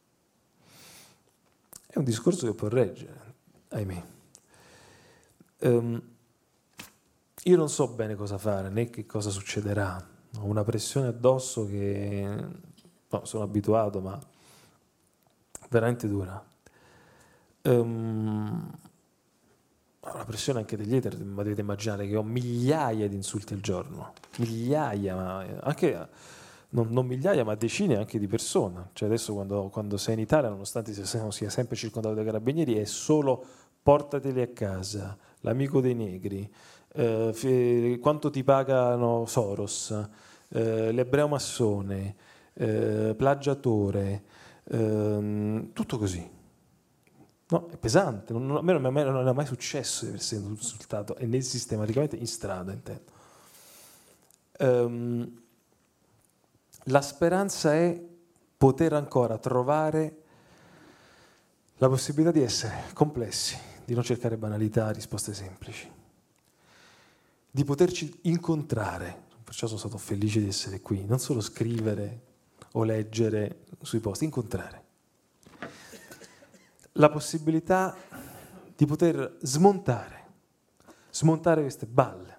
È un discorso che può reggere, ahimè. Um, io non so bene cosa fare, né che cosa succederà. Ho una pressione addosso che no, sono abituato, ma veramente dura. Um, la pressione anche degli hater, ma dovete immaginare che ho migliaia di insulti al giorno, migliaia, ma anche non, non migliaia, ma decine anche di persone. Cioè adesso quando, quando sei in Italia, nonostante sia, sia sempre circondato dai carabinieri, è solo portateli a casa, l'amico dei negri, eh, f- quanto ti pagano Soros, eh, l'ebreo massone, eh, plagiatore, eh, tutto così. No, è pesante, non, non, a me non, non, non è mai successo di essere insultato, e né sistematicamente in strada, intendo. Um, la speranza è poter ancora trovare la possibilità di essere complessi, di non cercare banalità, risposte semplici, di poterci incontrare. Perciò sono stato felice di essere qui, non solo scrivere o leggere sui post, incontrare. La possibilità di poter smontare, smontare queste balle.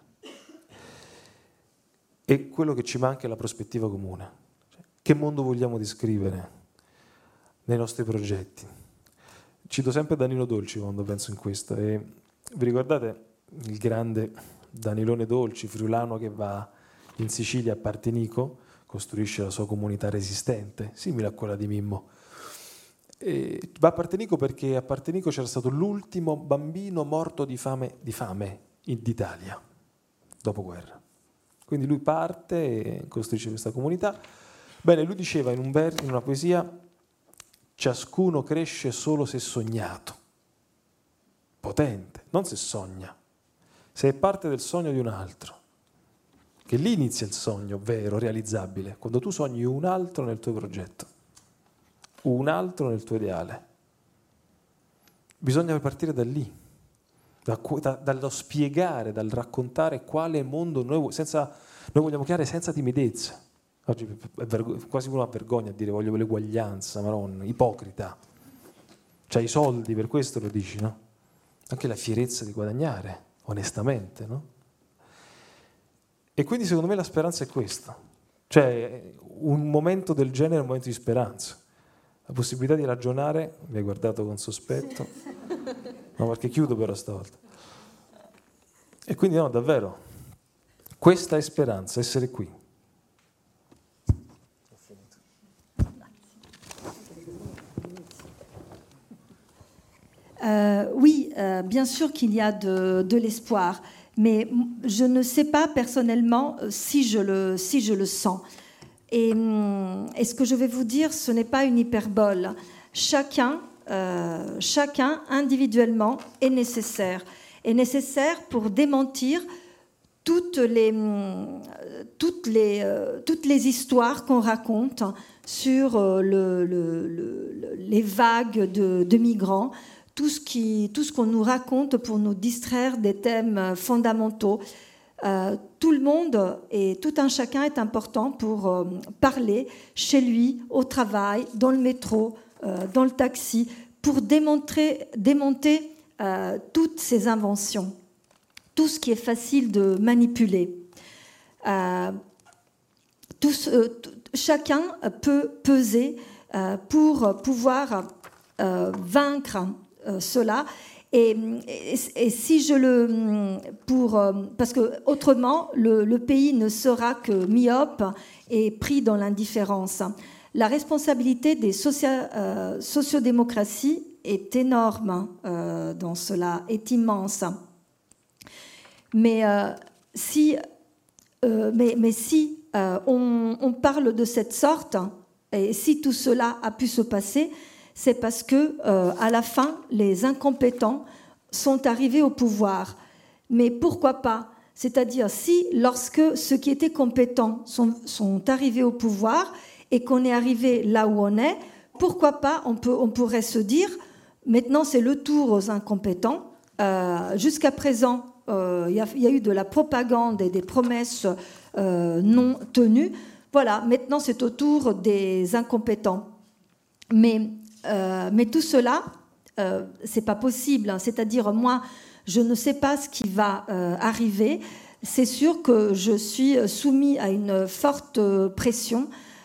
E quello che ci manca è la prospettiva comune. Cioè, che mondo vogliamo descrivere nei nostri progetti? Cito sempre Danilo Dolci quando penso in questo. E vi ricordate il grande Danilone Dolci, friulano, che va in Sicilia a Partinico, costruisce la sua comunità resistente, simile a quella di Mimmo. E va a Partinico perché a Partinico c'era stato l'ultimo bambino morto di fame, di fame in, d'Italia, dopo guerra. Quindi lui parte e costruisce questa comunità. Bene, lui diceva in, un ver- in una poesia: ciascuno cresce solo se sognato. Potente, non se sogna. Se è parte del sogno di un altro, che lì inizia il sogno vero, realizzabile, quando tu sogni un altro nel tuo progetto, un altro nel tuo ideale. Bisogna partire da lì, da, da, dallo spiegare, dal raccontare quale mondo noi, senza, noi vogliamo creare senza timidezza. Oggi è vergo- quasi uno ha vergogna a dire voglio l'eguaglianza, maronna, ipocrita. C'hai i soldi, per questo lo dici, no? Anche la fierezza di guadagnare, onestamente, no? E quindi secondo me la speranza è questa. Cioè un momento del genere è un momento di speranza. La possibilità di ragionare, mi hai guardato con sospetto, no, perché chiudo però stavolta. E quindi no, davvero, questa è speranza, essere qui. Euh, oui, euh, bien sûr qu'il y a de, de l'espoir, mais je ne sais pas personnellement si je le, si je le sens. Et, et ce que je vais vous dire, ce n'est pas une hyperbole. Chacun, euh, chacun individuellement est nécessaire. Est nécessaire pour démentir toutes les, toutes les, euh, toutes les histoires qu'on raconte sur euh, le, le, le, les vagues de, de migrants, tout ce, qui, tout ce qu'on nous raconte pour nous distraire des thèmes fondamentaux. Euh, tout le monde et tout un chacun est important pour euh, parler chez lui, au travail, dans le métro, euh, dans le taxi, pour démontrer, démonter euh, toutes ces inventions, tout ce qui est facile de manipuler. Euh, tout, euh, tout, chacun peut peser euh, pour pouvoir euh, vaincre euh, cela. Et, et, et si je le pour parce que autrement le, le pays ne sera que myope et pris dans l'indifférence. La responsabilité des socia, euh, sociodémocraties est énorme euh, dans cela, est immense. Mais euh, si euh, mais, mais si euh, on, on parle de cette sorte et si tout cela a pu se passer, c'est parce que, euh, à la fin, les incompétents sont arrivés au pouvoir. Mais pourquoi pas ? C'est-à-dire, si, lorsque ceux qui étaient compétents sont, sont arrivés au pouvoir et qu'on est arrivé là où on est, pourquoi pas, on, peut, on pourrait se dire, maintenant c'est le tour aux incompétents. Euh, jusqu'à présent, il euh, y, y a eu de la propagande et des promesses euh, non tenues. Voilà, maintenant c'est au tour des incompétents. Mais... Euh, mais tout cela, euh, c'est pas possible. C'est-à-dire, moi, je ne sais pas ce qui va euh, arriver. C'est sûr que je suis soumis à une forte pression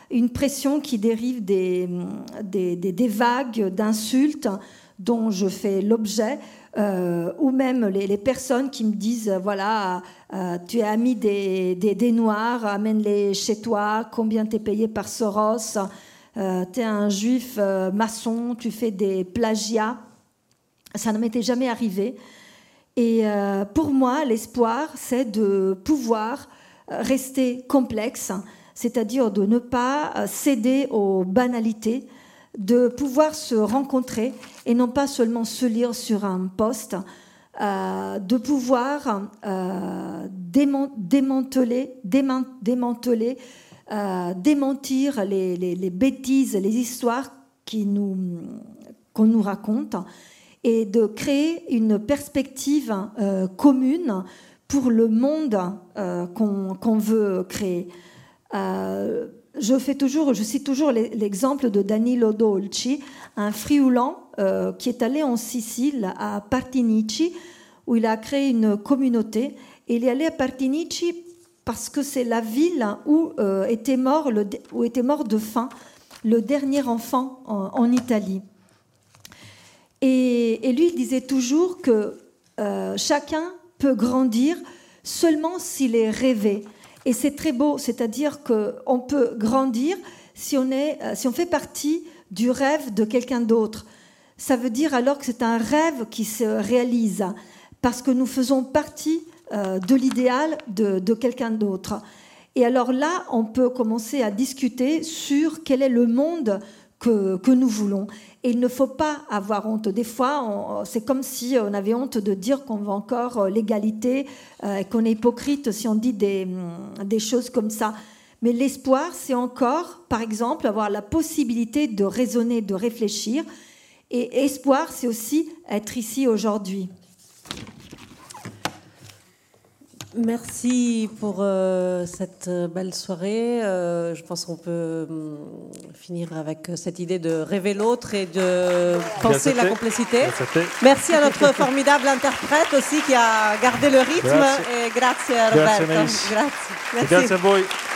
une pression qui dérive des, des, des, des vagues d'insultes dont je fais l'objet, euh, ou même les, les personnes qui me disent, voilà, euh, tu es ami des, des, des Noirs, amène-les chez toi, combien t'es payé par Soros, euh, t'es un juif euh, maçon, tu fais des plagiats. Ça ne m'était jamais arrivé. Et euh, pour moi, l'espoir, c'est de pouvoir rester complexe, c'est-à-dire de ne pas céder aux banalités, de pouvoir se rencontrer et non pas seulement se lire sur un post, euh, de pouvoir euh, déman- démanteler, déman- démanteler euh, démentir les, les, les bêtises, les histoires qui nous, qu'on nous raconte, et de créer une perspective euh, commune pour le monde euh, qu'on, qu'on veut créer. Euh, je, fais toujours, je cite toujours l'exemple de Danilo Dolci, un friulan euh, qui est allé en Sicile, à Partinici, où il a créé une communauté. Et il est allé à Partinici parce que c'est la ville où, euh, était, mort le, où était mort de faim le dernier enfant en, en Italie. Et, et lui, il disait toujours que euh, chacun peut grandir seulement s'il est rêvé. Et c'est très beau, c'est-à-dire qu'on peut grandir si on, est, si on fait partie du rêve de quelqu'un d'autre. Ça veut dire alors que c'est un rêve qui se réalise, parce que nous faisons partie euh, de l'idéal de, de quelqu'un d'autre. Et alors là, on peut commencer à discuter sur quel est le monde que, que nous voulons. Et il ne faut pas avoir honte. Des fois, on, c'est comme si on avait honte de dire qu'on veut encore l'égalité, euh, et qu'on est hypocrite si on dit des, des choses comme ça. Mais l'espoir, c'est encore, par exemple, avoir la possibilité de raisonner, de réfléchir. Et espoir, c'est aussi être ici aujourd'hui. Merci pour euh, cette belle soirée. Euh, je pense qu'on peut hum, finir avec cette idée de rêver l'autre et de penser la complicité. Merci à notre formidable interprète aussi qui a gardé le rythme. Grazie. Et grazie Roberto. Grazie, grazie. Grazie a voi.